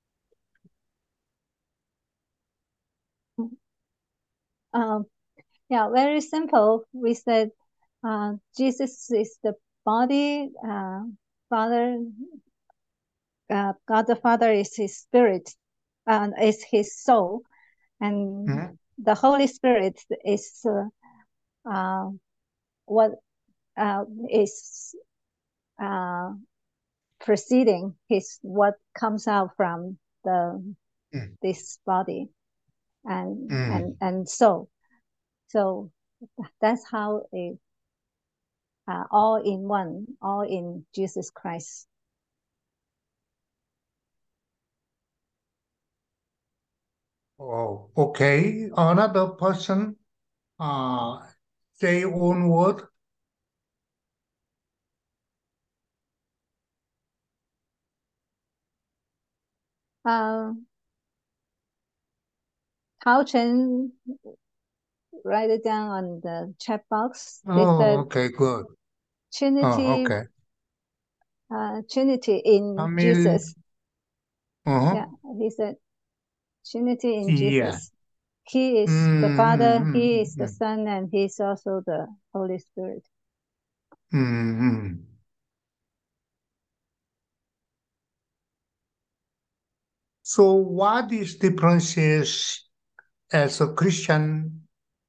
Um, yeah, very simple. We said Jesus is the body, Father, God the Father is his spirit, is his soul, and Mhm. the Holy Spirit is what is proceeding, his what comes out from the Mm. this body and Mm. and soul. So that's how it all in one, all in Jesus Christ. Oh, okay. Another person say one word. Tao Chen write it down on the chat box. He Oh, said okay, good. Oh, Trinity, okay. Trinity in Tamil. Jesus. Yeah, Uh-huh. he said Trinity in Yeah. Jesus. He is the Father, He is the Mm-hmm. Son, and He is also the Holy Spirit. Mm-hmm. So what is differences as a Christian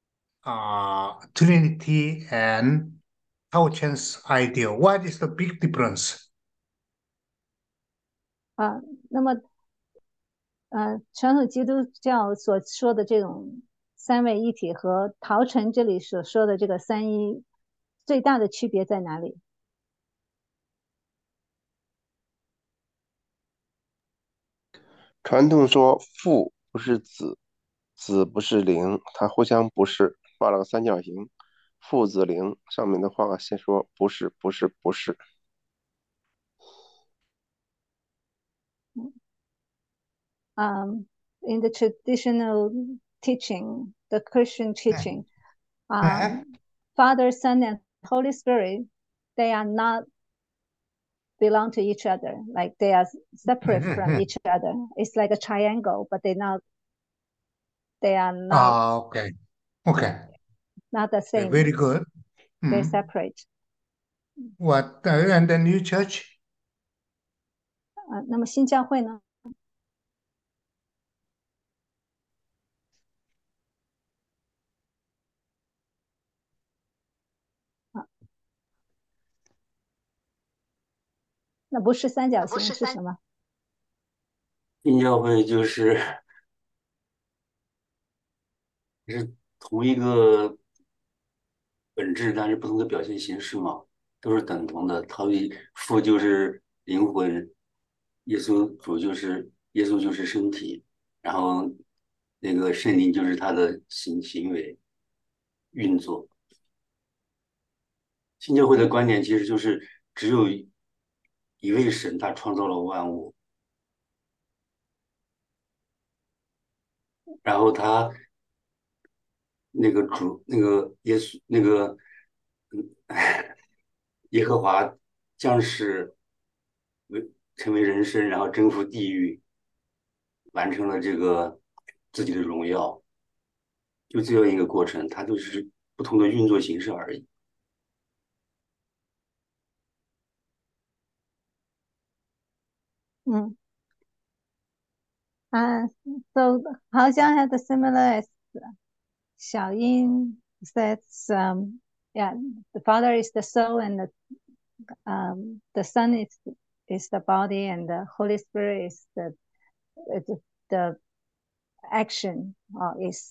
Trinity and Tao Chen's idea? What is the big difference? 那么传统基督教所说的这种三位一体和陶成这里所说的这个三一最大的区别在哪里？ 传统说父不是子，子不是灵，它互相不是，画了个三角形，父子灵。上面的话先说不是，不是，不是。 In the traditional teaching, the Christian teaching, Uh-huh. Father, Son, and Holy Spirit, they are not belong to each other. Like they are separate from each other. It's like a triangle, but they are not Okay. Okay. not the Okay, very same. good. They're Mm. separate. What and the new church? 那么新教会呢？那不是三角形是什么？ 新教会就是同一个本质，但是不同的表现形式嘛，都是等同的。它父就是灵魂，耶稣就是身体，然后那个圣灵就是他的行为运作。新教会的观点其实就是只有一位神，他创造了万物，然后他那个主那个耶稣那个耶和华将是成为人身，然后征服地狱，完成了这个自己的荣耀，就这样一个过程，它就是不同的运作形式而已。 嗯so Haojiang had a similar as Xiaoyin says, yeah, the Father is the soul and the Son is the body and the Holy Spirit is the action is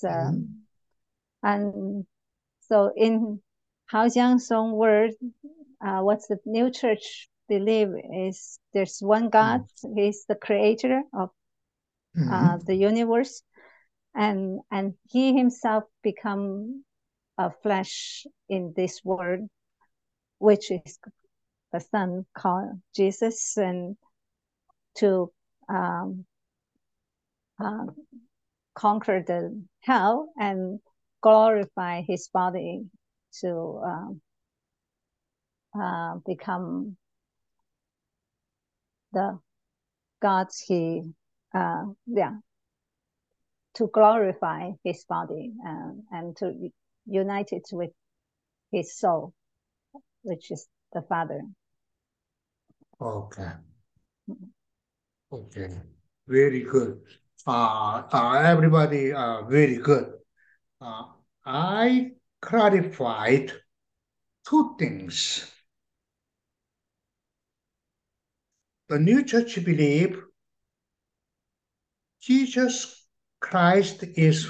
and so in Haojiang's own word, what's the new church believe is there's one God. He's the creator of the universe, and he himself become a flesh in this world, which is the Son called Jesus, and to conquer the hell and glorify his body to become the gods to glorify his body and to unite it with his soul, which is the Father. Okay. Okay. Very good. Everybody, very good. I clarified two things. The new church believe Jesus Christ is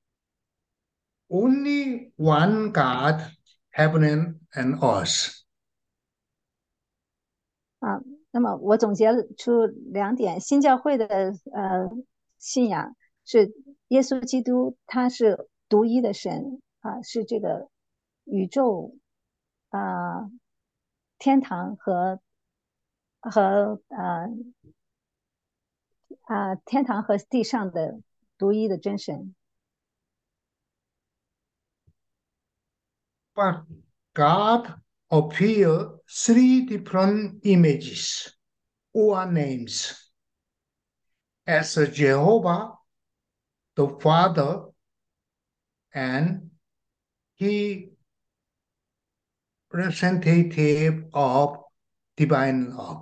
only one God, heaven and earth. 那么我总结出2点，新教会的信仰是耶稣基督他是独一的神是这个宇宙天堂和天堂和地上的独一的真神。 But God appear 3 different images or names as Jehovah, the Father, and He representative of divine love.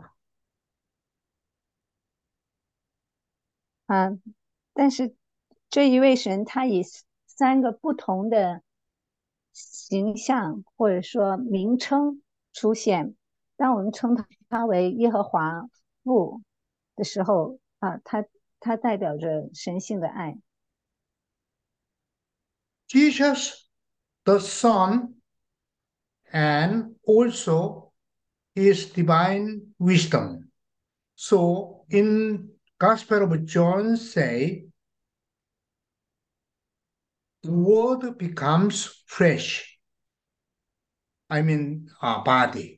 但是这一位神他以3个不同的形象或者说名称出现，当我们称他为耶和华父的时候他代表着神性的爱。 Jesus, the Son, and also His divine wisdom. So in Gospel of John say, the word becomes flesh. I mean, body.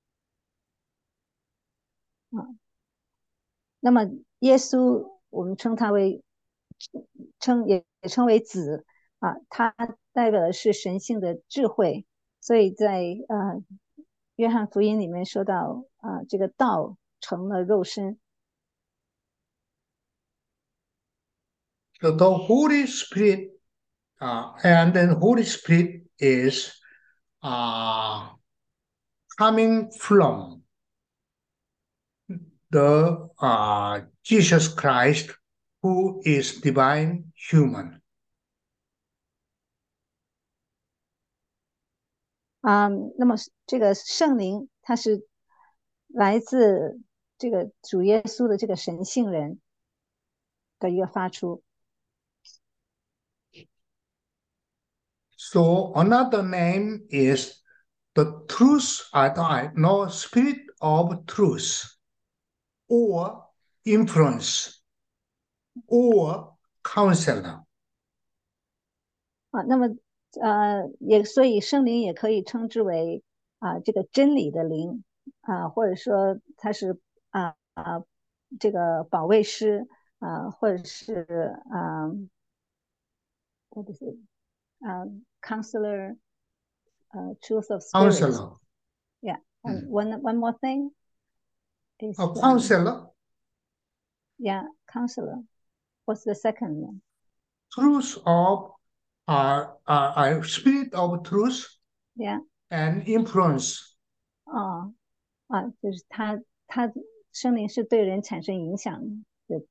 那么耶稣我们称他为也称为子他代表的是神性的智慧，所以在约翰福音里面说到这个道成了肉身。 So the Holy Spirit, and then Holy Spirit is coming from the Jesus Christ, who is divine human. 那么这个圣灵它是来自这个主耶稣的这个神性人的一个发出。 So another name is the truth, no, spirit of truth, or influence, or counselor. 那么所以圣灵也可以称之为这个真理的灵或者说它是这个保卫师或者是what is it counselor truth of spirit. Counselor. Yeah, and one more thing is counselor. Yeah, counselor. What's the second one? Truth of spirit of truth. Yeah. And influence. 就是他圣灵是对人产生影响的。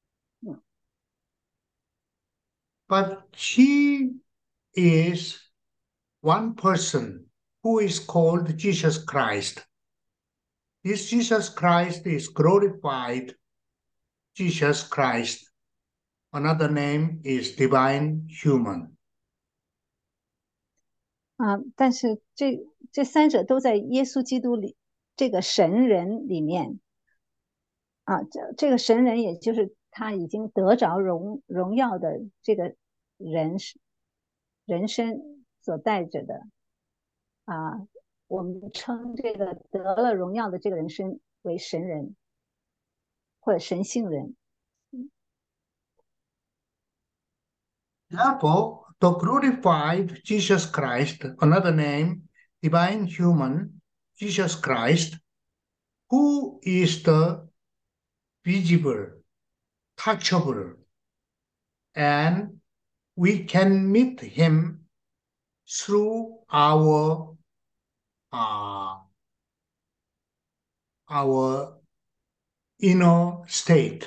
But he is one person who is called Jesus Christ. This Jesus Christ is glorified Jesus Christ. Another name is divine human. 但是这3者都在耶稣基督里这个神人里面啊，这个神人也就是他已经得着荣耀的这个人身所带着的啊，我们称这个得了荣耀的这个人身为神人或者神性人。 Therefore, the glorified Jesus Christ, another name, divine human Jesus Christ, who is the visible, touchable, and we can meet him through uh, our inner state.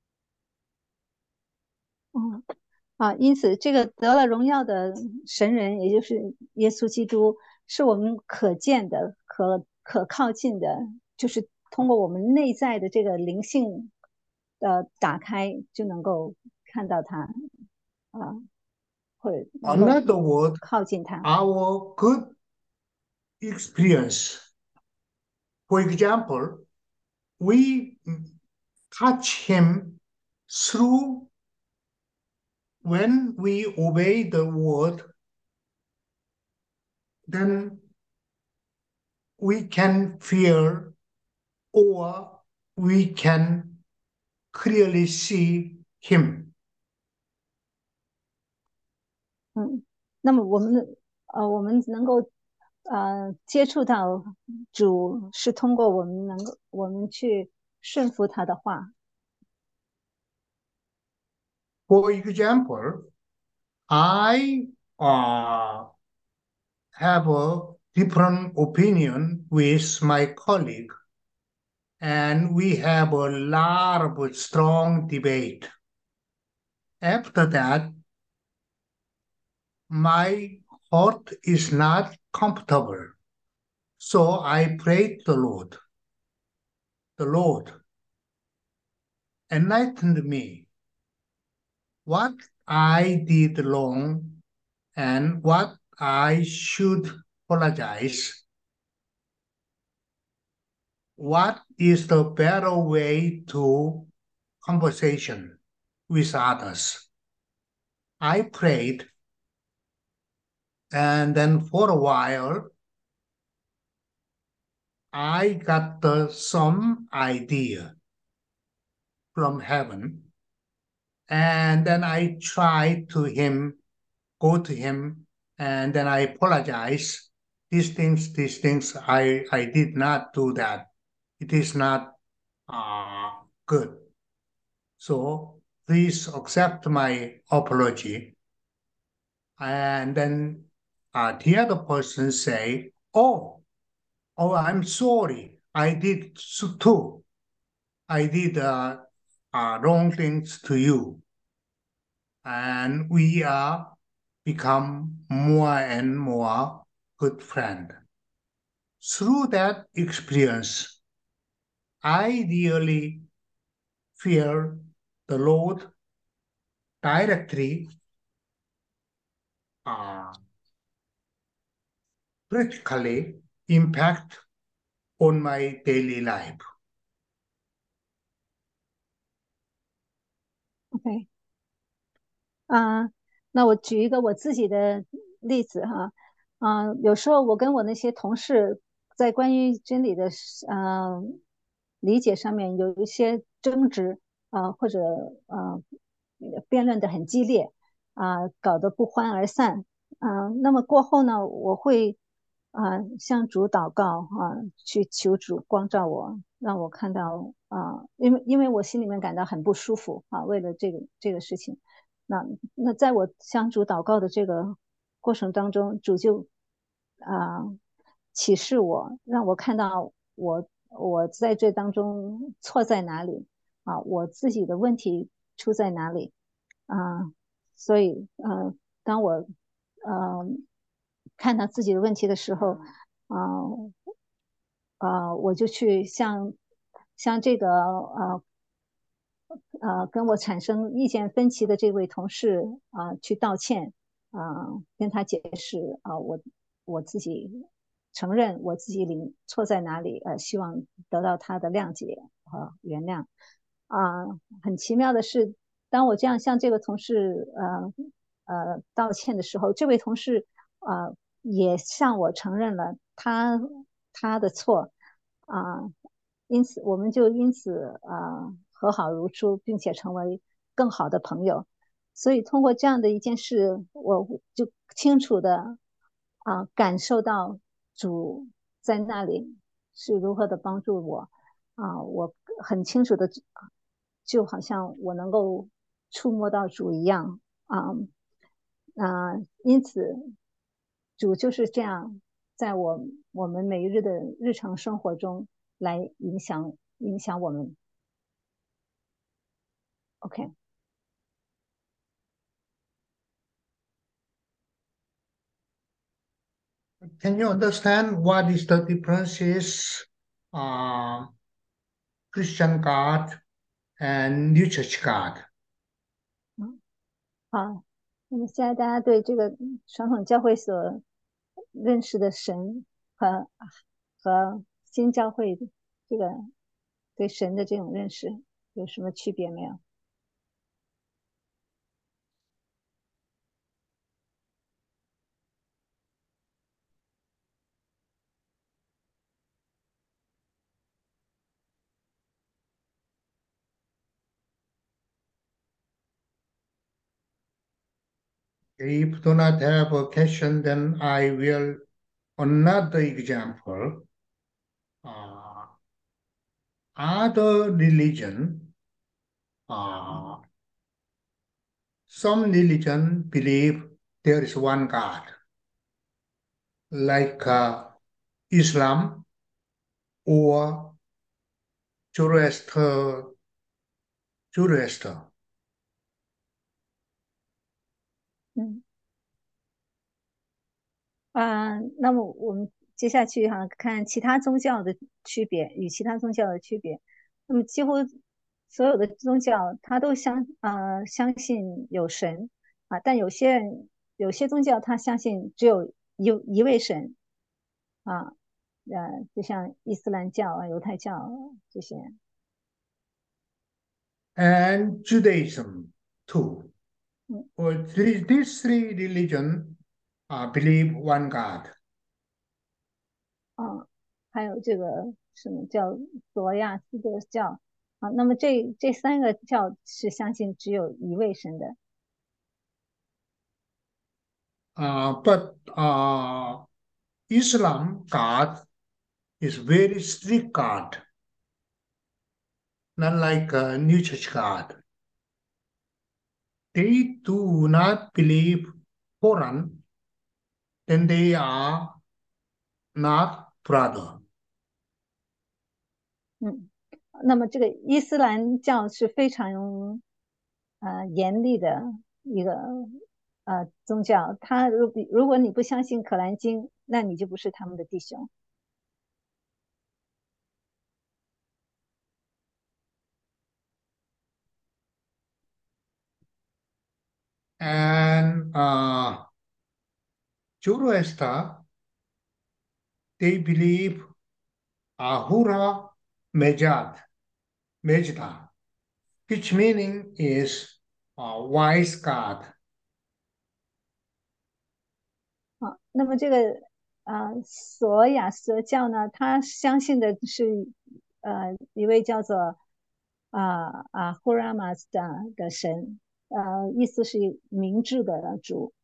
因此这个得了荣耀的神人，也就是耶稣基督，是我们可见的、可靠近的，就是通过我们内在的这个灵性的打开，就能够看到他啊，或者能够 Another word, 靠近他。 our good experience. For example, we touch him through when we obey the word, then we can feel or we can clearly see him. 那么我们能够接触到主，是通过我们去顺服他的话。 For example, I have a different opinion with my colleague, and we have a lot of strong debate. After that, my heart is not comfortable, so I prayed the Lord. The Lord enlightened me what I did wrong and what I should apologize. What is the better way to conversation with others? I prayed, and then for a while, I got some idea from heaven, and then I tried to go to him, and then I apologize. These things, I did not do that. It is not good. So please accept my apology. And then the other person say, oh, I'm sorry. I did too. I did wrong things to you. And we are become more and more good friend. Through that experience, I really fear the Lord directly, critically impact on my daily life. OK， 那我举一个我自己的例子哈，有时候我跟我那些同事在关于真理的理解上面有一些争执或者辩论的很激烈搞得不欢而散那么过后呢，我会向主祷告去求主光照我，让我看到因为我心里面感到很不舒服为了这个事情。那在我向主祷告的这个过程当中，主就启示我，让我看到我在这当中错在哪里我自己的问题出在哪里所以当我看到自己的问题的时候我就去向这个跟我产生意见分歧的这位同事去道歉跟他解释我自己承认我自己错在哪里，希望得到他的谅解和原谅。很奇妙的是，当我这样向这个同事道歉的时候，这位同事也向我承认了他的错因此我们就和好如初，并且成为更好的朋友。所以通过这样的一件事，我就清楚的感受到主在那里是如何的帮助我我很清楚的就好像我能够触摸到主一样因此主就是这样在我们每一日的日常生活中来影响我们。OK， Can you understand what is the differences Christian God and New Church God? 那么现在大家对这个传统教会所认识的神和新教会这个对神的这种认识有什么区别没有？ If do not have a question, then I will another example. Other religion, some religion believe there is one God, like Islam or Zoroaster. 那么我们接下去看其他宗教的区别与其他宗教的区别。那么几乎所有的宗教它都相信有神但有些宗教它相信只有一位神就像伊斯兰教犹太教这些。 And Judaism too. Or these three religions believe one God. 还有这个什么叫罗亚斯德教那么这三个教是相信只有一位神的。 But Islam God is very strict God, not like New Church God. They do not believe Quran, then they are not brother. 那么这个伊斯兰教是非常严厉的一个宗教，他如果你不相信可兰经，那你就不是他们的弟兄。 And Zoroaster, they believe Ahura Mazda, which meaning is wise God. 那么这个索亚斯德教呢，他相信的是一位叫做呼拉马斯的神，意思是明智的主。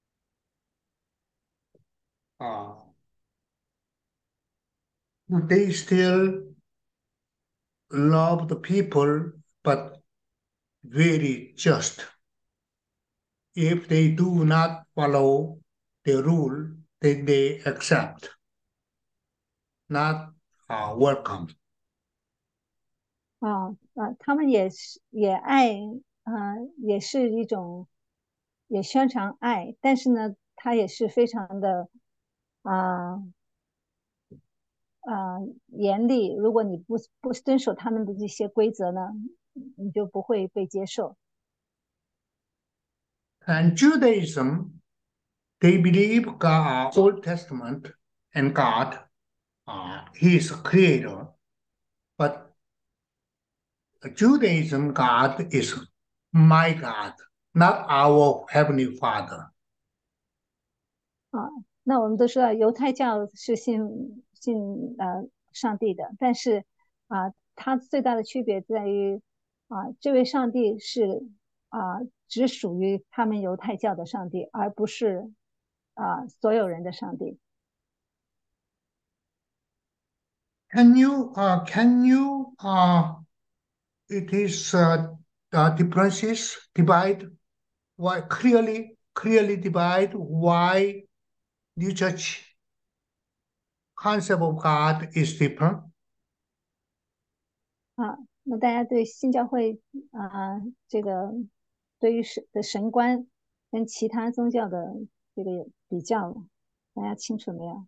They still love the people, but very just. If they do not follow the rule, then they accept, not welcome. 他们也爱也是一种也宣传爱，但是呢，他也是非常的严厉。如果你不遵守他们的这些规则呢，你就不会被接受。 And Judaism, they believe God, Old Testament and God. He is a creator, but Judaism God is my God, not our heavenly Father. 啊，那我们都知道犹太教是信上帝的，但是它最大的区别在于这位上帝是只属于他们犹太教的上帝，而不是所有人的上帝。 Can you it is differences divide why clearly divide why New Church concept of God is different? 那大家对新教会这个对于神观跟其他宗教的这个比较，大家清楚没有？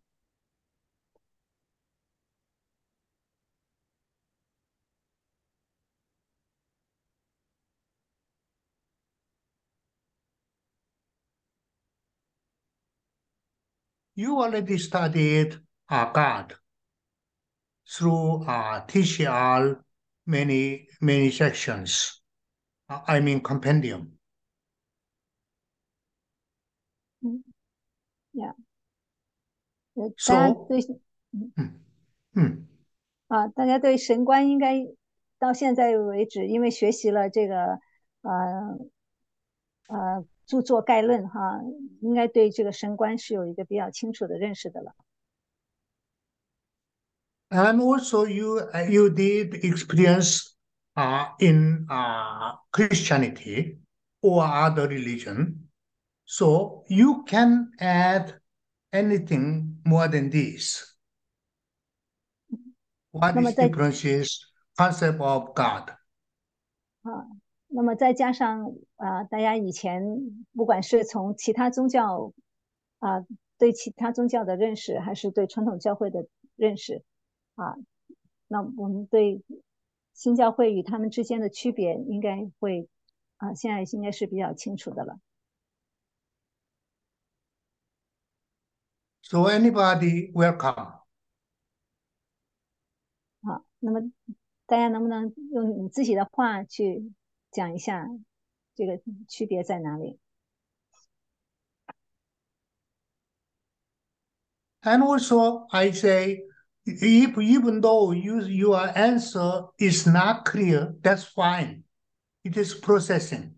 You already studied God through TCR many sections. I mean compendium. 大家对大家对神观应该到现在为止，因为学习了这个著作概论应该对这个神观是有一个比较清楚的认识的了。 And also you did experience in Christianity or other religion, so you can add anything more than this. What is differences concept of God? 那么再加上大家以前不管是从其他宗教对其他宗教的认识，还是对传统教会的认识那我们对新教会与他们之间的区别应该会现在应该是比较清楚的了。 So anybody welcome. 那么大家能不能用你自己的话去讲一下这个区别在哪里？ And also I say, even though your answer is not clear, that's fine. It is processing.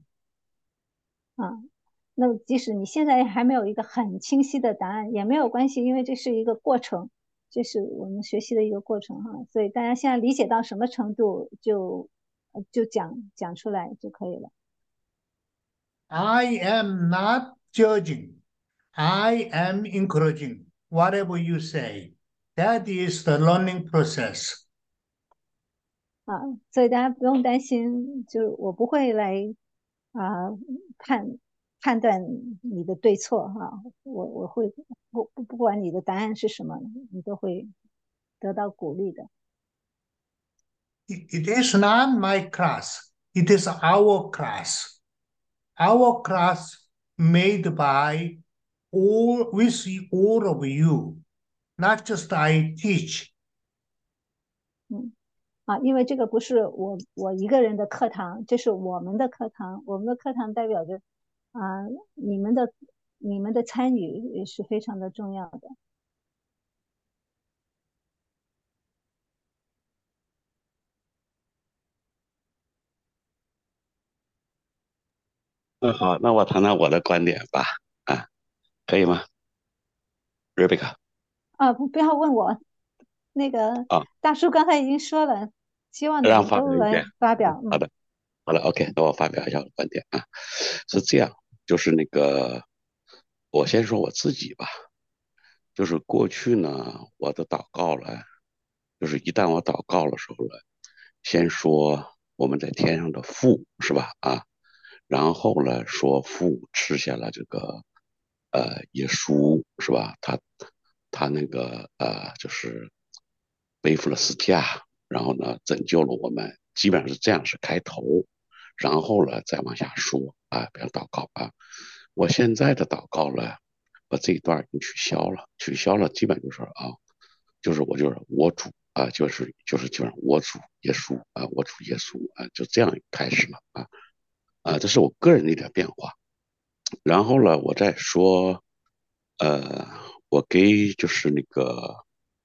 那么即使你现在还没有一个很清晰的答案也没有关系，因为这是一个过程，这是我们学习的一个过程所以大家现在理解到什么程度就讲出来就可以了。 I am not judging. I am encouraging. Whatever you say, that is the learning process. 所以大家不用担心，就是我不会来判断你的对错我会不管你的答案是什么，你都会得到鼓励的。 It is not my class. It is our class. Our class made by with all of you, not just I teach. 因为这个不是我一个人的课堂，这是我们的课堂。我们的课堂代表着你们的参与也是非常的重要的。 好，那我谈谈我的观点吧，可以吗 ，Rebecca？ 不要问我，那个大叔刚才已经说了，希望你们都来发表。 好的 ，OK， 那我发表一下我的观点是这样，就是那个，我先说我自己吧，就是过去呢，我的祷告了，就是一旦我祷告的时候呢，先说我们在天上的父，是吧？然后呢，说父吃下了这个耶稣，是吧？他那个就是背负了十架，然后呢拯救了我们，基本上是这样是开头，然后呢再往下说比方祷告我现在的祷告呢， 把这一段给取消了，取消了，基本就是就是我主基本上我主耶稣我主耶稣就这样开始了这是我个人的一点变化。然后呢，我再说，我给就是那个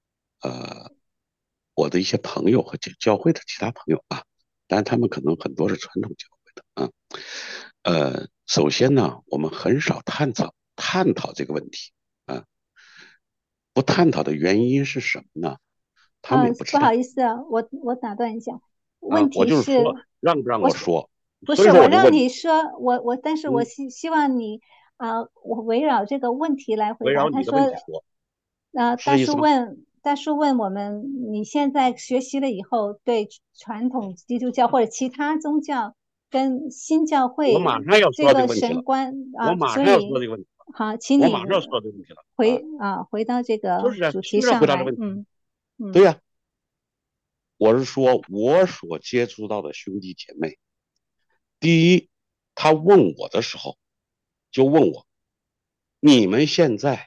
我的一些朋友和教会的其他朋友当然他们可能很多是传统教会的首先呢，我们很少探讨这个问题不探讨的原因是什么呢？他们也不知道不好意思啊，我打断一下，问我就是题是， 说让不让我说， 不所以是我让说我就问你说，但是我希望你我围绕这个问题来回答。 围绕你的问他说， 题说，是大这意思吗？ 叔问我们，你现在学习了以后，对传统基督教或者其他宗教跟新教我会马上要这个说这个问题了， 神观我马上要说所以这个问题了， 好，请你我马上要说这个问题了回到这个就是主题是要回上来。 答这个问题。 嗯对呀，我是说我所接触到的兄弟姐妹，第一，他问我的时候就问我，你们现在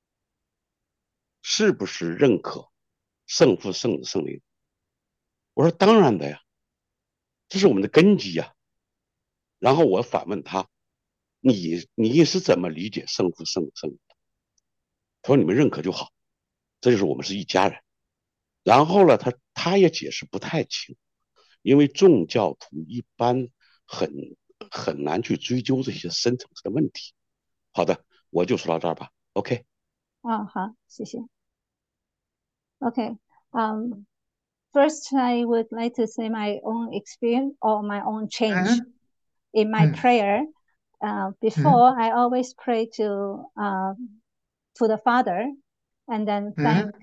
是不是认可圣父、圣子、圣灵？我说当然的呀，这是我们的根基呀。然后我反问他，你是怎么理解圣父、圣子、圣灵的？他说你们认可就好，这就是我们是一家人。然后呢，他也解释不太清，因为众教徒一般很很难去追究这些深层次的问题。好的，我就说到这儿吧。OK。 好，谢谢。Okay. First, I would like to say my own experience or my own change in my prayer. Before, I always pray to the Father, and then thank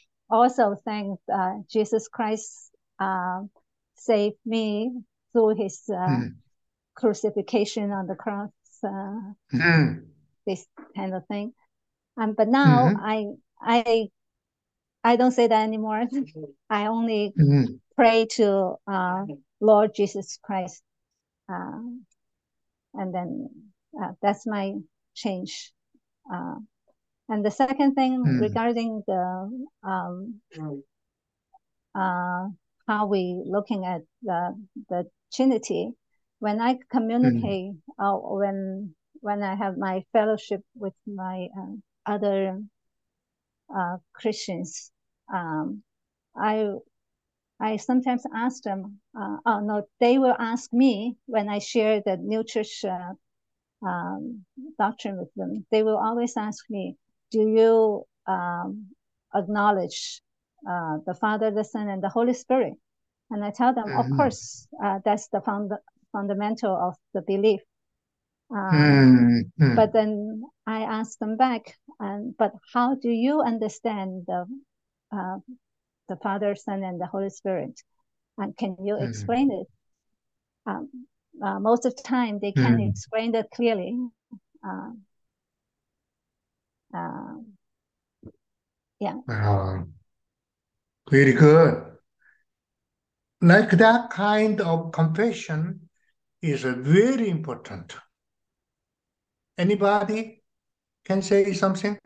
Jesus Christ saved me through His crucifixion on the cross, this kind of thing. But now I don't say that anymore. I only pray to Lord Jesus Christ, and then that's my change. And the second thing regarding the how we looking at the Trinity, when I communicate, when I have my fellowship with my other Christians, I sometimes ask them, no, they will ask me when I share the new church doctrine with them. They will always ask me, do you acknowledge the Father, the Son, and the Holy Spirit? And I tell them, of course, that's the fundamental of the belief. But then I ask them back, but how do you understand the Father, Son, and the Holy Spirit? And can you explain it? Most of the time, they can't explain it clearly. Yeah. Very good. Like that kind of confession is very important. Anybody can say something?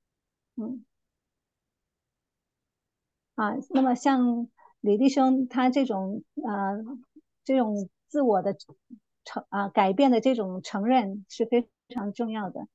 那么像李弟兄他这种自我的改变的这种承认是非常重要的。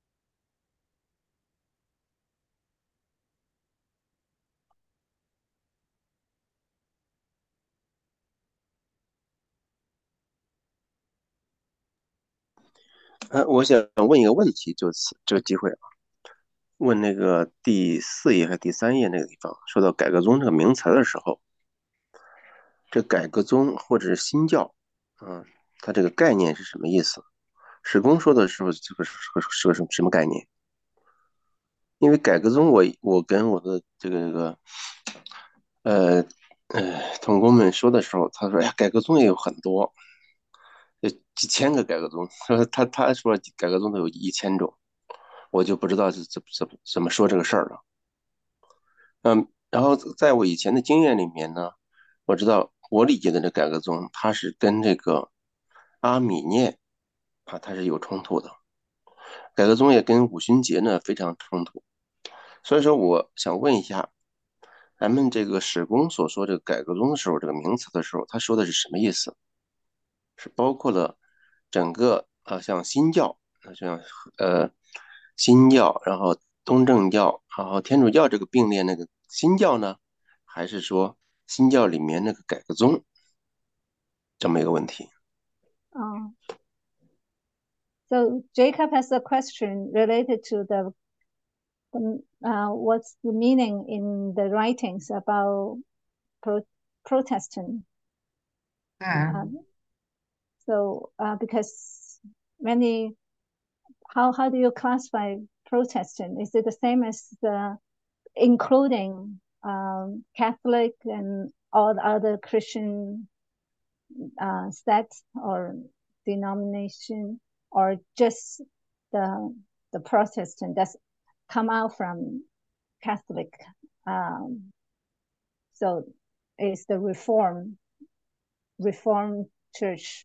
我想问一个问题，就此这个机会问那个第4页和第3页那个地方，说到改革宗这个名词的时候，这改革宗或者是新教，它这个概念是什么意思？史公说的时候，这个是个什么概念？因为改革宗我跟我的这个同工们说的时候，他说呀，改革宗也有很多，有几千个改革宗，他说改革宗都有1000种，我就不知道是怎么说这个事儿了。然后在我以前的经验里面呢，我知道我理解的这改革宗，它是跟这个阿米念它是有冲突的。 改革宗也跟五旬节呢非常冲突，所以说我想问一下，咱们这个史公所说这个改革宗的时候，这个名词的时候，他说的是什么意思？是包括了整个像新教，像新教，然后东正教，然后天主教这个并列那个新教呢，还是说新教里面那个改革宗这么一个问题？ So Jacob has a question related to the what's the meaning in the writings about Protestant. So because many, how do you classify Protestant? Is it the same as the including Catholic and all the other Christian sects or denomination, or just the Protestant that's come out from Catholic? So is the Reformed Church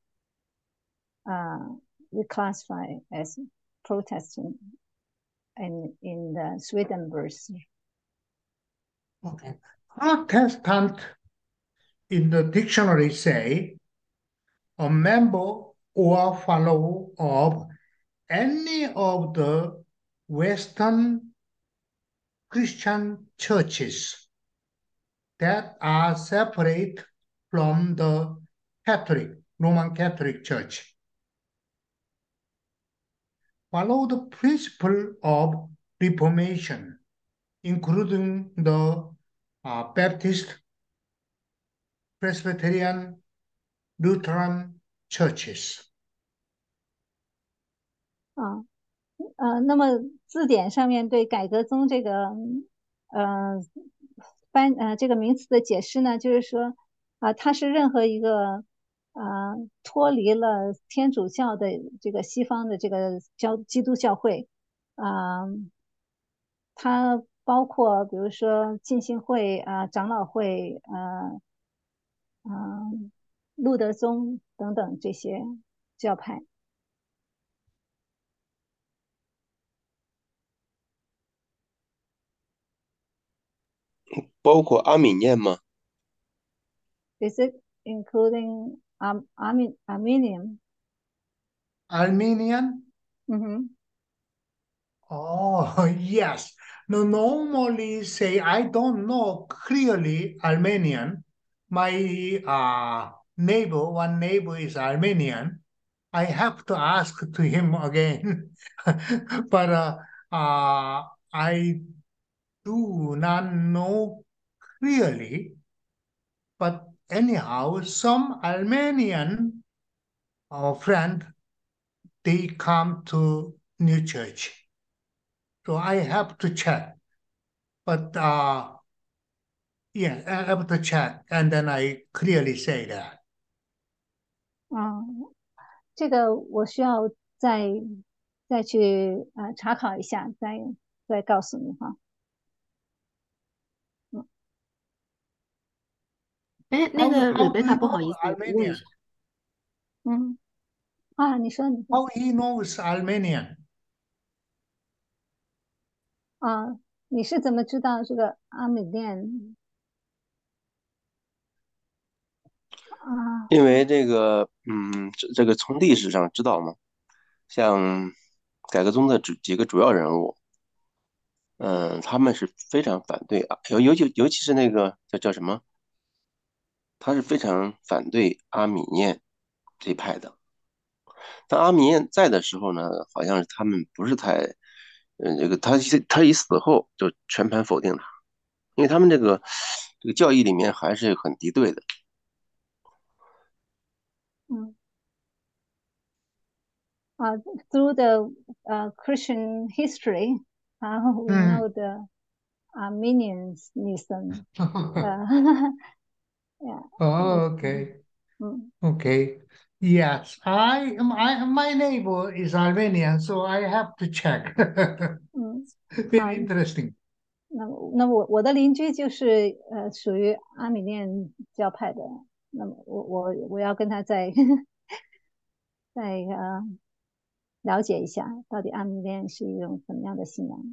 we classify as Protestant in the Swedenborg. Okay. Protestant in the dictionary say a member or follower of any of the Western Christian churches that are separate from the Roman Catholic Church. Follow the principle of Reformation, including the Baptist, Presbyterian, Lutheran churches. 那么字典上面对改革宗这个这个名词的解释呢，就是说它是任何一个脱离了天主教的这个西方的这个基督教会它包括比如说浸信会长老会路德宗等等这些教派。 包括阿米念吗？ Is it including Armenian? Armenian? Oh, yes. No, normally say I don't know clearly Armenian. My one neighbor is Armenian. I have to ask to him again. But I do not know clearly. But anyhow, some Armenian friend, they come to New Church. So I have to check. But yeah, I have to check, and then I clearly say that. 这个我需要再去查考一下，再告诉你哈。 那个 How Rebecca 不好意思，我问一下。 你说。 How he knows Armenian? 你是怎么知道这个阿美念？ 因为这个，这个从历史上知道嘛，像改革宗的几个主要人物，他们是非常反对尤其是那个叫什么，他是非常反对阿米念这一派的。当阿米念在的时候呢，好像是他们不是太，这个他一死后就全盘否定他，因为他们这个教义里面还是很敌对的。 Through the Christian history, we know the Arminianism. Yeah. Oh, okay. Okay. Yes, my neighbor is Armenian, so I have to check. Very interesting. 那我的邻居就是属于阿米念教派的，那么我要跟他再了解一下，到底阿米念是一种怎么样的信仰。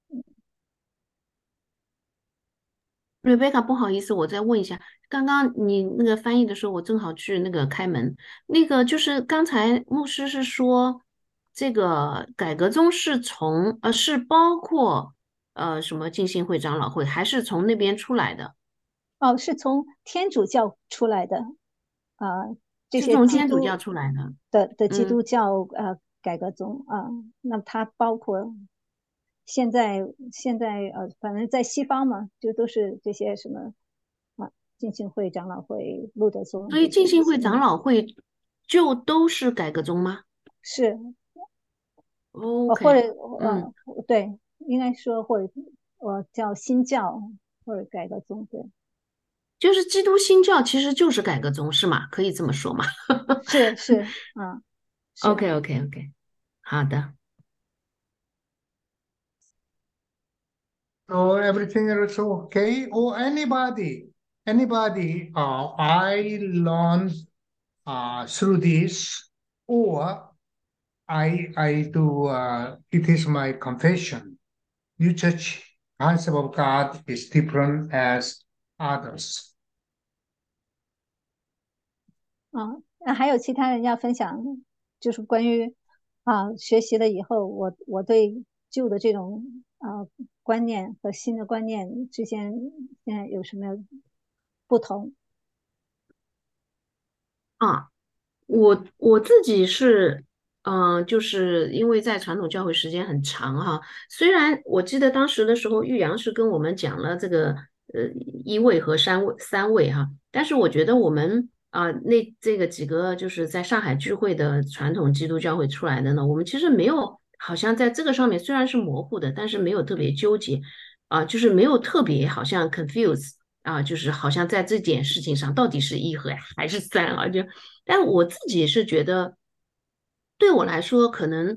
瑞贝卡，不好意思，我再问一下，刚刚你那个翻译的时候，我正好去那个开门，那个就是刚才牧师是说，这个改革宗是是包括什么浸信会长老会，还是从那边出来的？ 哦，是从天主教出来的，这是些从天主教出来的。 的基嗯， 督教改革宗那它包括现在反正在西方嘛，就都是这些什么浸信会、长老会、路德宗所以这些， 浸信会长老会就都是改革宗吗是或 ？OK， 者嗯。 对，应该说或者叫新教或者改革宗，对， 就是基督新教其实就是改革宗是吗？可以这么说吗是是。 ？OK OK OK，好的。 So everything is okay. Or anybody, I learn through this, or I do. It is my confession. New church concept of God is different as others. 那还有其他人要分享，就是关于学习了以后，我对旧的这种观念和新的观念之间现在有什么不同？ 啊，我自己是，就是因为在传统教会时间很长哈，虽然我记得当时的时候，玉阳是跟我们讲了这个一位和三位哈，但是我觉得我们这个几个就是在上海聚会的传统基督教会出来的呢，我们其实没有好像在这个上面虽然是模糊的，但是没有特别纠结就是没有特别好像 confuse。就是好像在这件事情上，到底是一和还是三啊？但我自己是觉得，对我来说，可能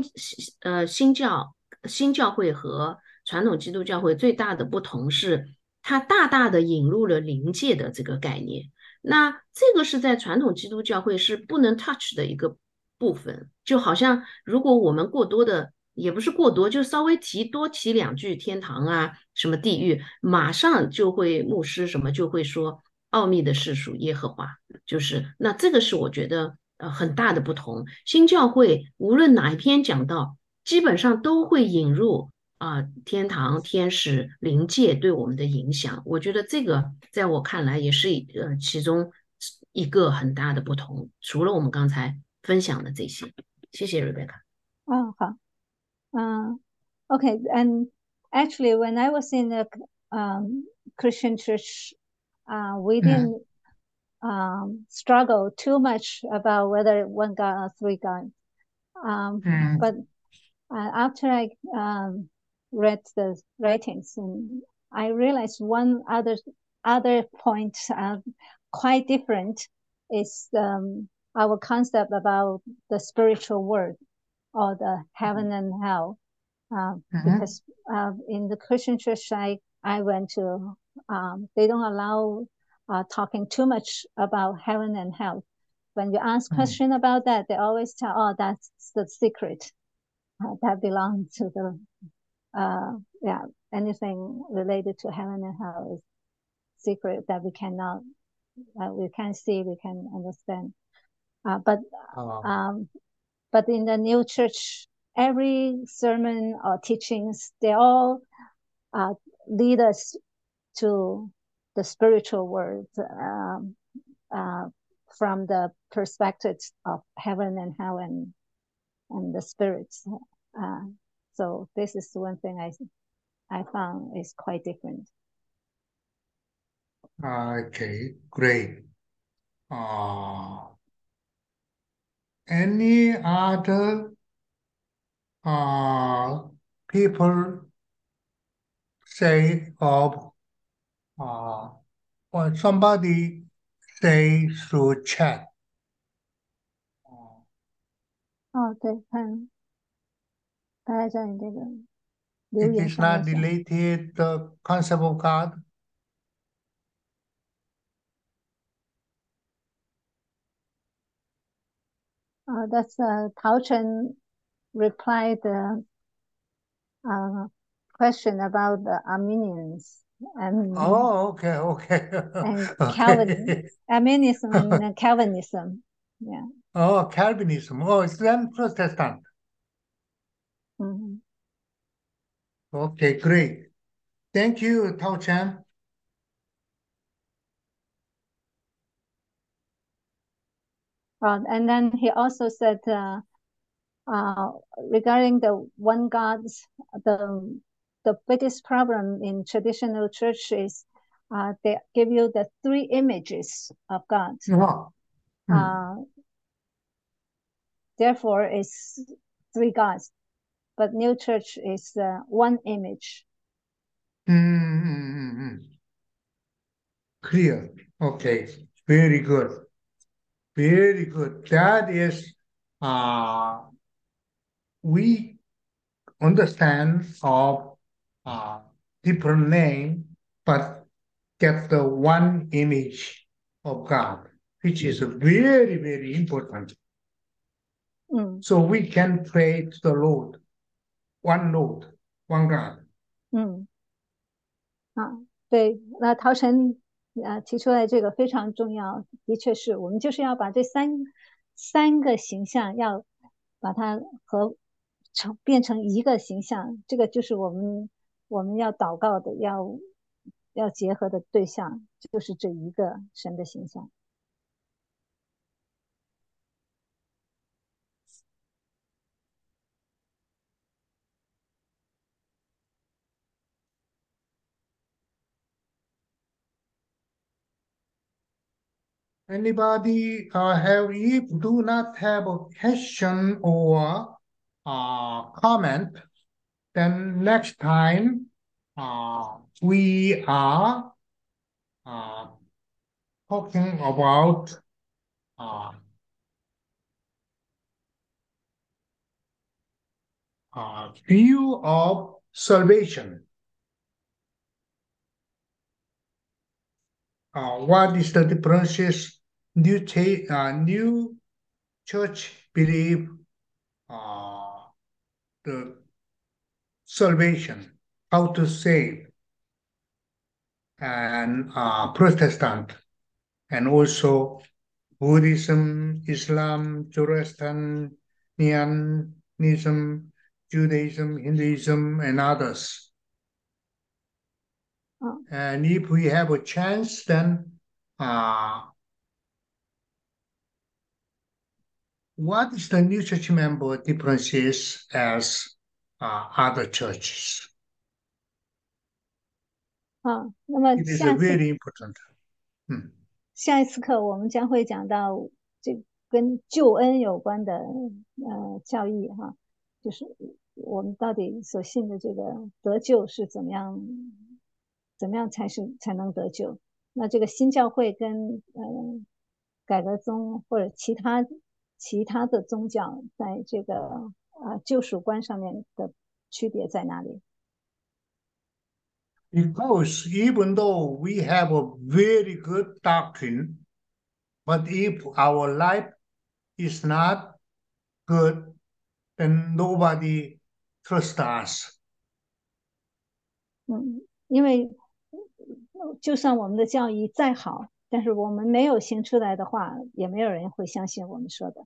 新教会和传统基督教会最大的不同是，它大大的引入了灵界的这个概念。那这个是在传统基督教会是不能 touch 的一个部分，就好像如果我们过多的，也不是过多，就稍微多提两句天堂什么地狱，马上就会牧师什么就会说奥秘的是属耶和华。就是那这个是我觉得很大的不同。新教会无论哪一篇讲到，基本上都会引入天堂、天使、灵界对我们的影响。我觉得这个在我看来也是其中一个很大的不同。除了我们刚才分享的这些，谢谢 Rebecca。 好，okay, and actually, when I was in a Christian church, we didn't struggle too much about whether one God or three gods. But after I read the writings, and I realized one other point quite different is our concept about the spiritual world or the heaven and hell. Because in the Christian church I went to, they don't allow talking too much about heaven and hell. When you ask question about that, they always tell, "Oh, that's the secret that belongs to the anything related to heaven and hell is secret that we can't see, we can understand." But in the new church, every sermon or teachings, they all lead us to the spiritual world from the perspective of heaven and hell and the spirits. So this is one thing I found is quite different. Okay, great. Any other people say of or somebody say through chat? 对，大家在你这个留 It 言 is 上面 not 讲。 related the concept of God. That's 陶晨 reply the question about the Armenians and Okay. and Okay. Arminianism and Calvinism. Yeah. Oh, Calvinism. Oh, it's then Protestant. Mhm. Okay, great. Thank you, Tao Chan. And then he also said regarding the one God's, the biggest problem in traditional church is they give you the three images of God. Therefore, it's three gods. But new church is one image. Clear. Okay. Very good. Very good. That is, we understand of different name, but get the one image of God, which is very, very important. So we can pray to the Lord, one God. 对，那陶晨提出来这个非常重要，的确是我们就是要把这三个形象要把它变成一个形象，这个就是我们要祷告的，要结合的对象，就是这一个神的形象。 Anybody do not have a question or comment, then next time we are talking about view of salvation. What is the differences new church believe the salvation, how to save, and Protestant, and also Buddhism, Islam, Zoroastrianism, Judaism, Hinduism, and others. And if we have a chance, then what is the new church member differences as other churches? 那么 It is very important. 下一次课我们将会讲到这跟救恩有关的教义哈，就是我们到底所信的这个得救是怎么样才能得救？那这个新教会跟改革宗或者其他的宗教在这个救赎观上面的区别在哪里？ Because even though we have a very good doctrine, but if our life is not good, then nobody trusts us. 因为就算我们的教义再好，但是我们没有行出来的话，也没有人会相信我们说的。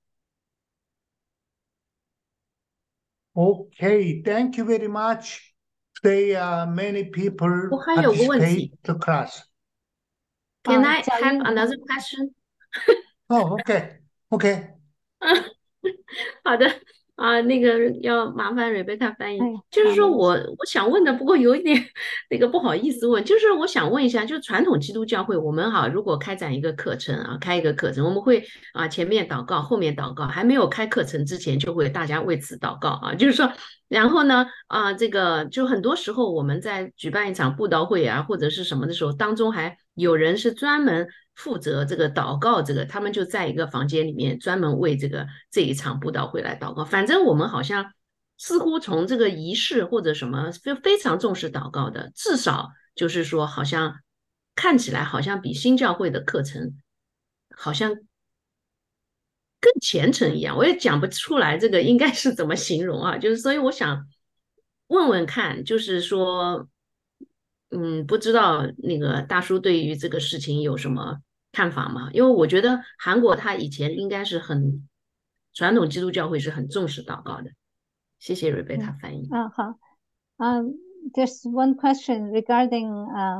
Okay, thank you very much. Today, many people 我还有个问 participate 题 the class. Can I have another question? Oh, okay. 好的那个要麻烦瑞贝卡翻译， 哎就是说好我想问的，不过有一点那个不好意思问，就是我想问一下，就传统基督教会，我们如果开展一个课程开一个课程，我们会前面祷告，后面祷告，还没有开课程之前就会大家为此祷告就是说，然后呢这个就很多时候我们在举办一场布道会或者是什么的时候，当中还有人是专门负责这个祷告，他们就在一个房间里面专门为这一场布道会来祷告。反正我们好像似乎从这个仪式或者什么就非常重视祷告的，至少就是说好像看起来好像比新教会的课程好像更虔诚一样，我也讲不出来这个应该是怎么形容啊。就是所以我想问问看，就是说，不知道那个大叔对于这个事情有什么看法吗？因为我觉得韩国他以前应该是很传统基督教会是很重视祷告的。谢谢瑞贝塔翻译。 好，there's one question regarding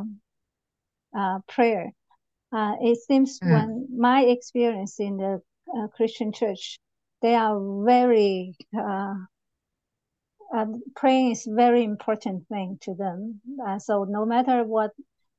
prayer. It seems when my experience in the Christian church, they are very praying is very important thing to them. So no matter what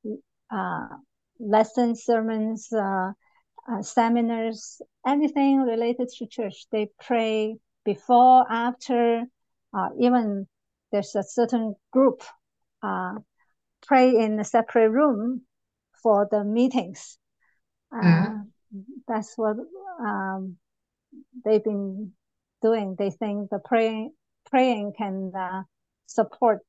lessons, sermons, seminars, anything related to church, they pray before, after, even there's a certain group pray in a separate room for the meetings. That's what they've been doing. They think the praying can support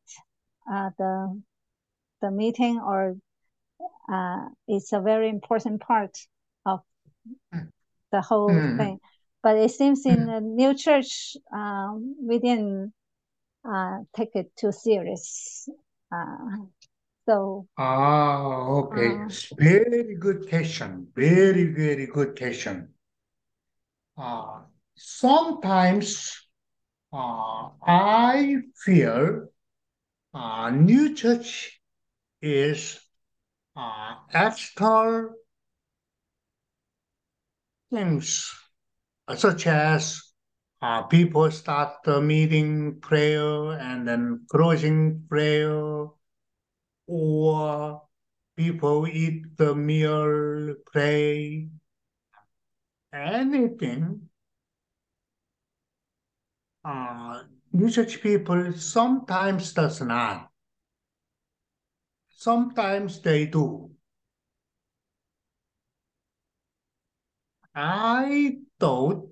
the meeting, or it's a very important part of the whole thing. But it seems in the new church, we didn't take it too serious. So. Okay. Very good question. Very, very good question. Sometimes I feel new church is external things, such as people start the meeting prayer and then closing prayer, or people eat the meal, pray, anything. New church people sometimes does not. Sometimes they do. I thought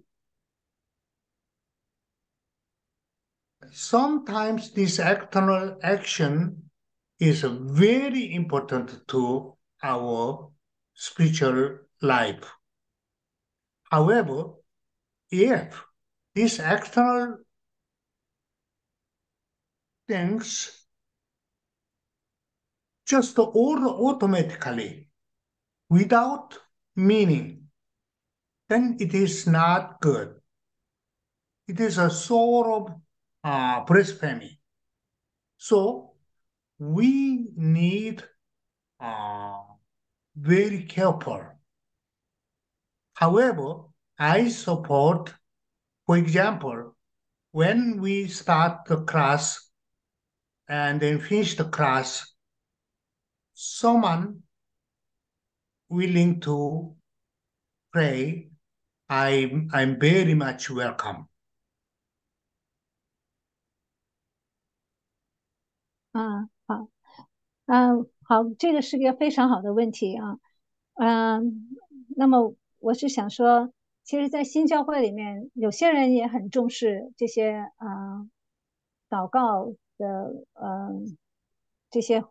sometimes this external action is very important to our spiritual life. However, if these external things just automatically, without meaning, then it is not good. It is a sort of blasphemy. So we need very careful. However, I support, for example, when we start the class and then finish the class, someone willing to pray, I'm very much welcome. 好，这个是个非常好的问题啊。那么我是想说，其实，在新教会里面，有些人也很重视这些祷告的这些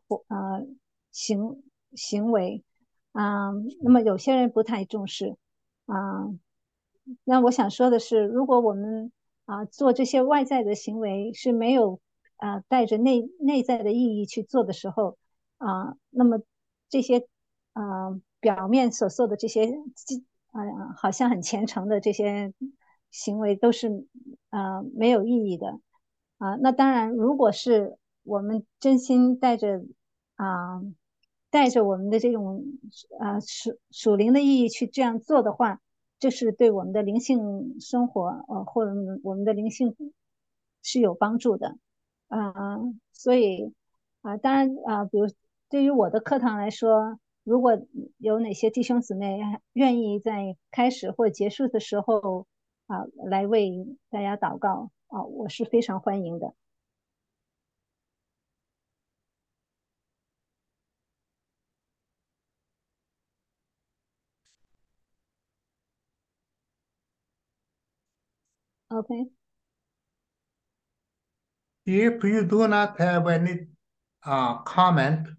行为那么有些人不太重视那我想说的是，如果我们做这些外在的行为是没有带着内在的意义去做的时候那么这些表面所做的这些好像很虔诚的这些行为都是没有意义的那当然，如果是我们真心带着我们的这种属灵的意义去这样做的话，这是对我们的灵性生活或者我们的灵性是有帮助的所以当然比如对于我的课堂来说，如果有哪些弟兄姊妹愿意在开始或结束的时候来为大家祷告我是非常欢迎的。Okay. If you do not have any comment,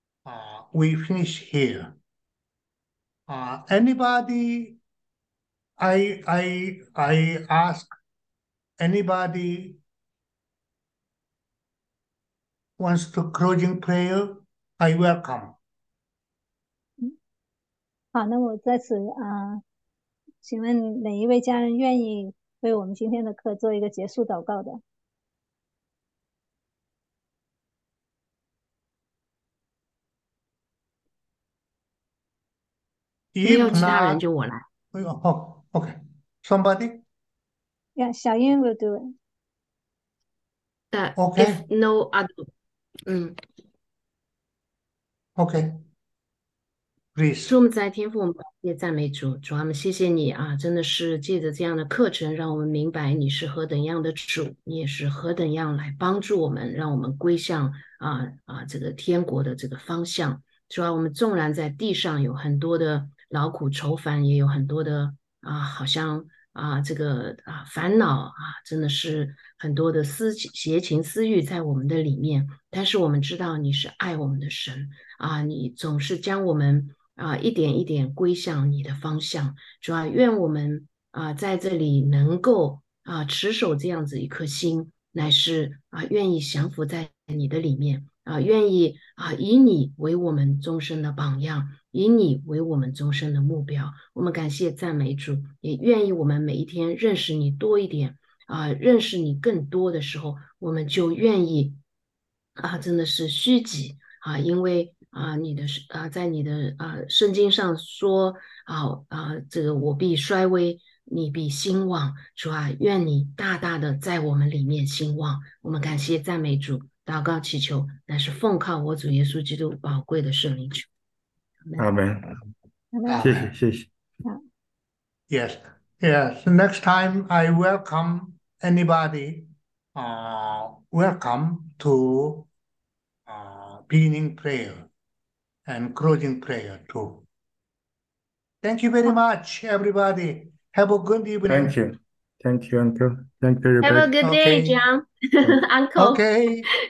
we finish here. Anybody I ask anybody wants to closing prayer, I welcome. 好，那我在此请问哪一位家人愿意为我们今天的课做一个结束祷告的？ 没有 If 其他人 not, 就我来。 oh, okay. Somebody? Yeah, 小英 will do it. Okay. If no other， Okay. 主， Please. 我们在天父，我们也赞美主，主啊，我们谢谢你啊，真的是借着这样的课程，让我们明白你是何等样的主，你也是何等样来帮助我们，让我们归向这个天国的这个方向。主啊，我们纵然在地上有很多的劳苦愁烦，也有很多的好像这个烦恼真的是很多的邪情私欲在我们的里面，但是我们知道你是爱我们的神你总是将我们一点一点归向你的方向。主啊，愿我们在这里能够持守这样子一颗心，乃是愿意降服在你的里面愿意以你为我们终身的榜样，以你为我们终身的目标。我们感谢赞美主，也愿意我们每一天认识你多一点认识你更多的时候，我们就愿意真的是虚己因为你的在你的圣经上说这个我必衰微，你必兴旺。主愿你大大的在我们里面兴旺。我们感谢赞美主，祷告祈求，乃是奉靠我主耶稣基督宝贵的圣灵求。 阿门。谢谢。 Yes. Yes. Next time I welcome anybody. Welcome to beginning prayer and closing prayer too. Thank you very much, everybody. Have a good evening. Thank you, Uncle. Thank you, Have a everybody. good day, Okay. John. Uncle. Okay.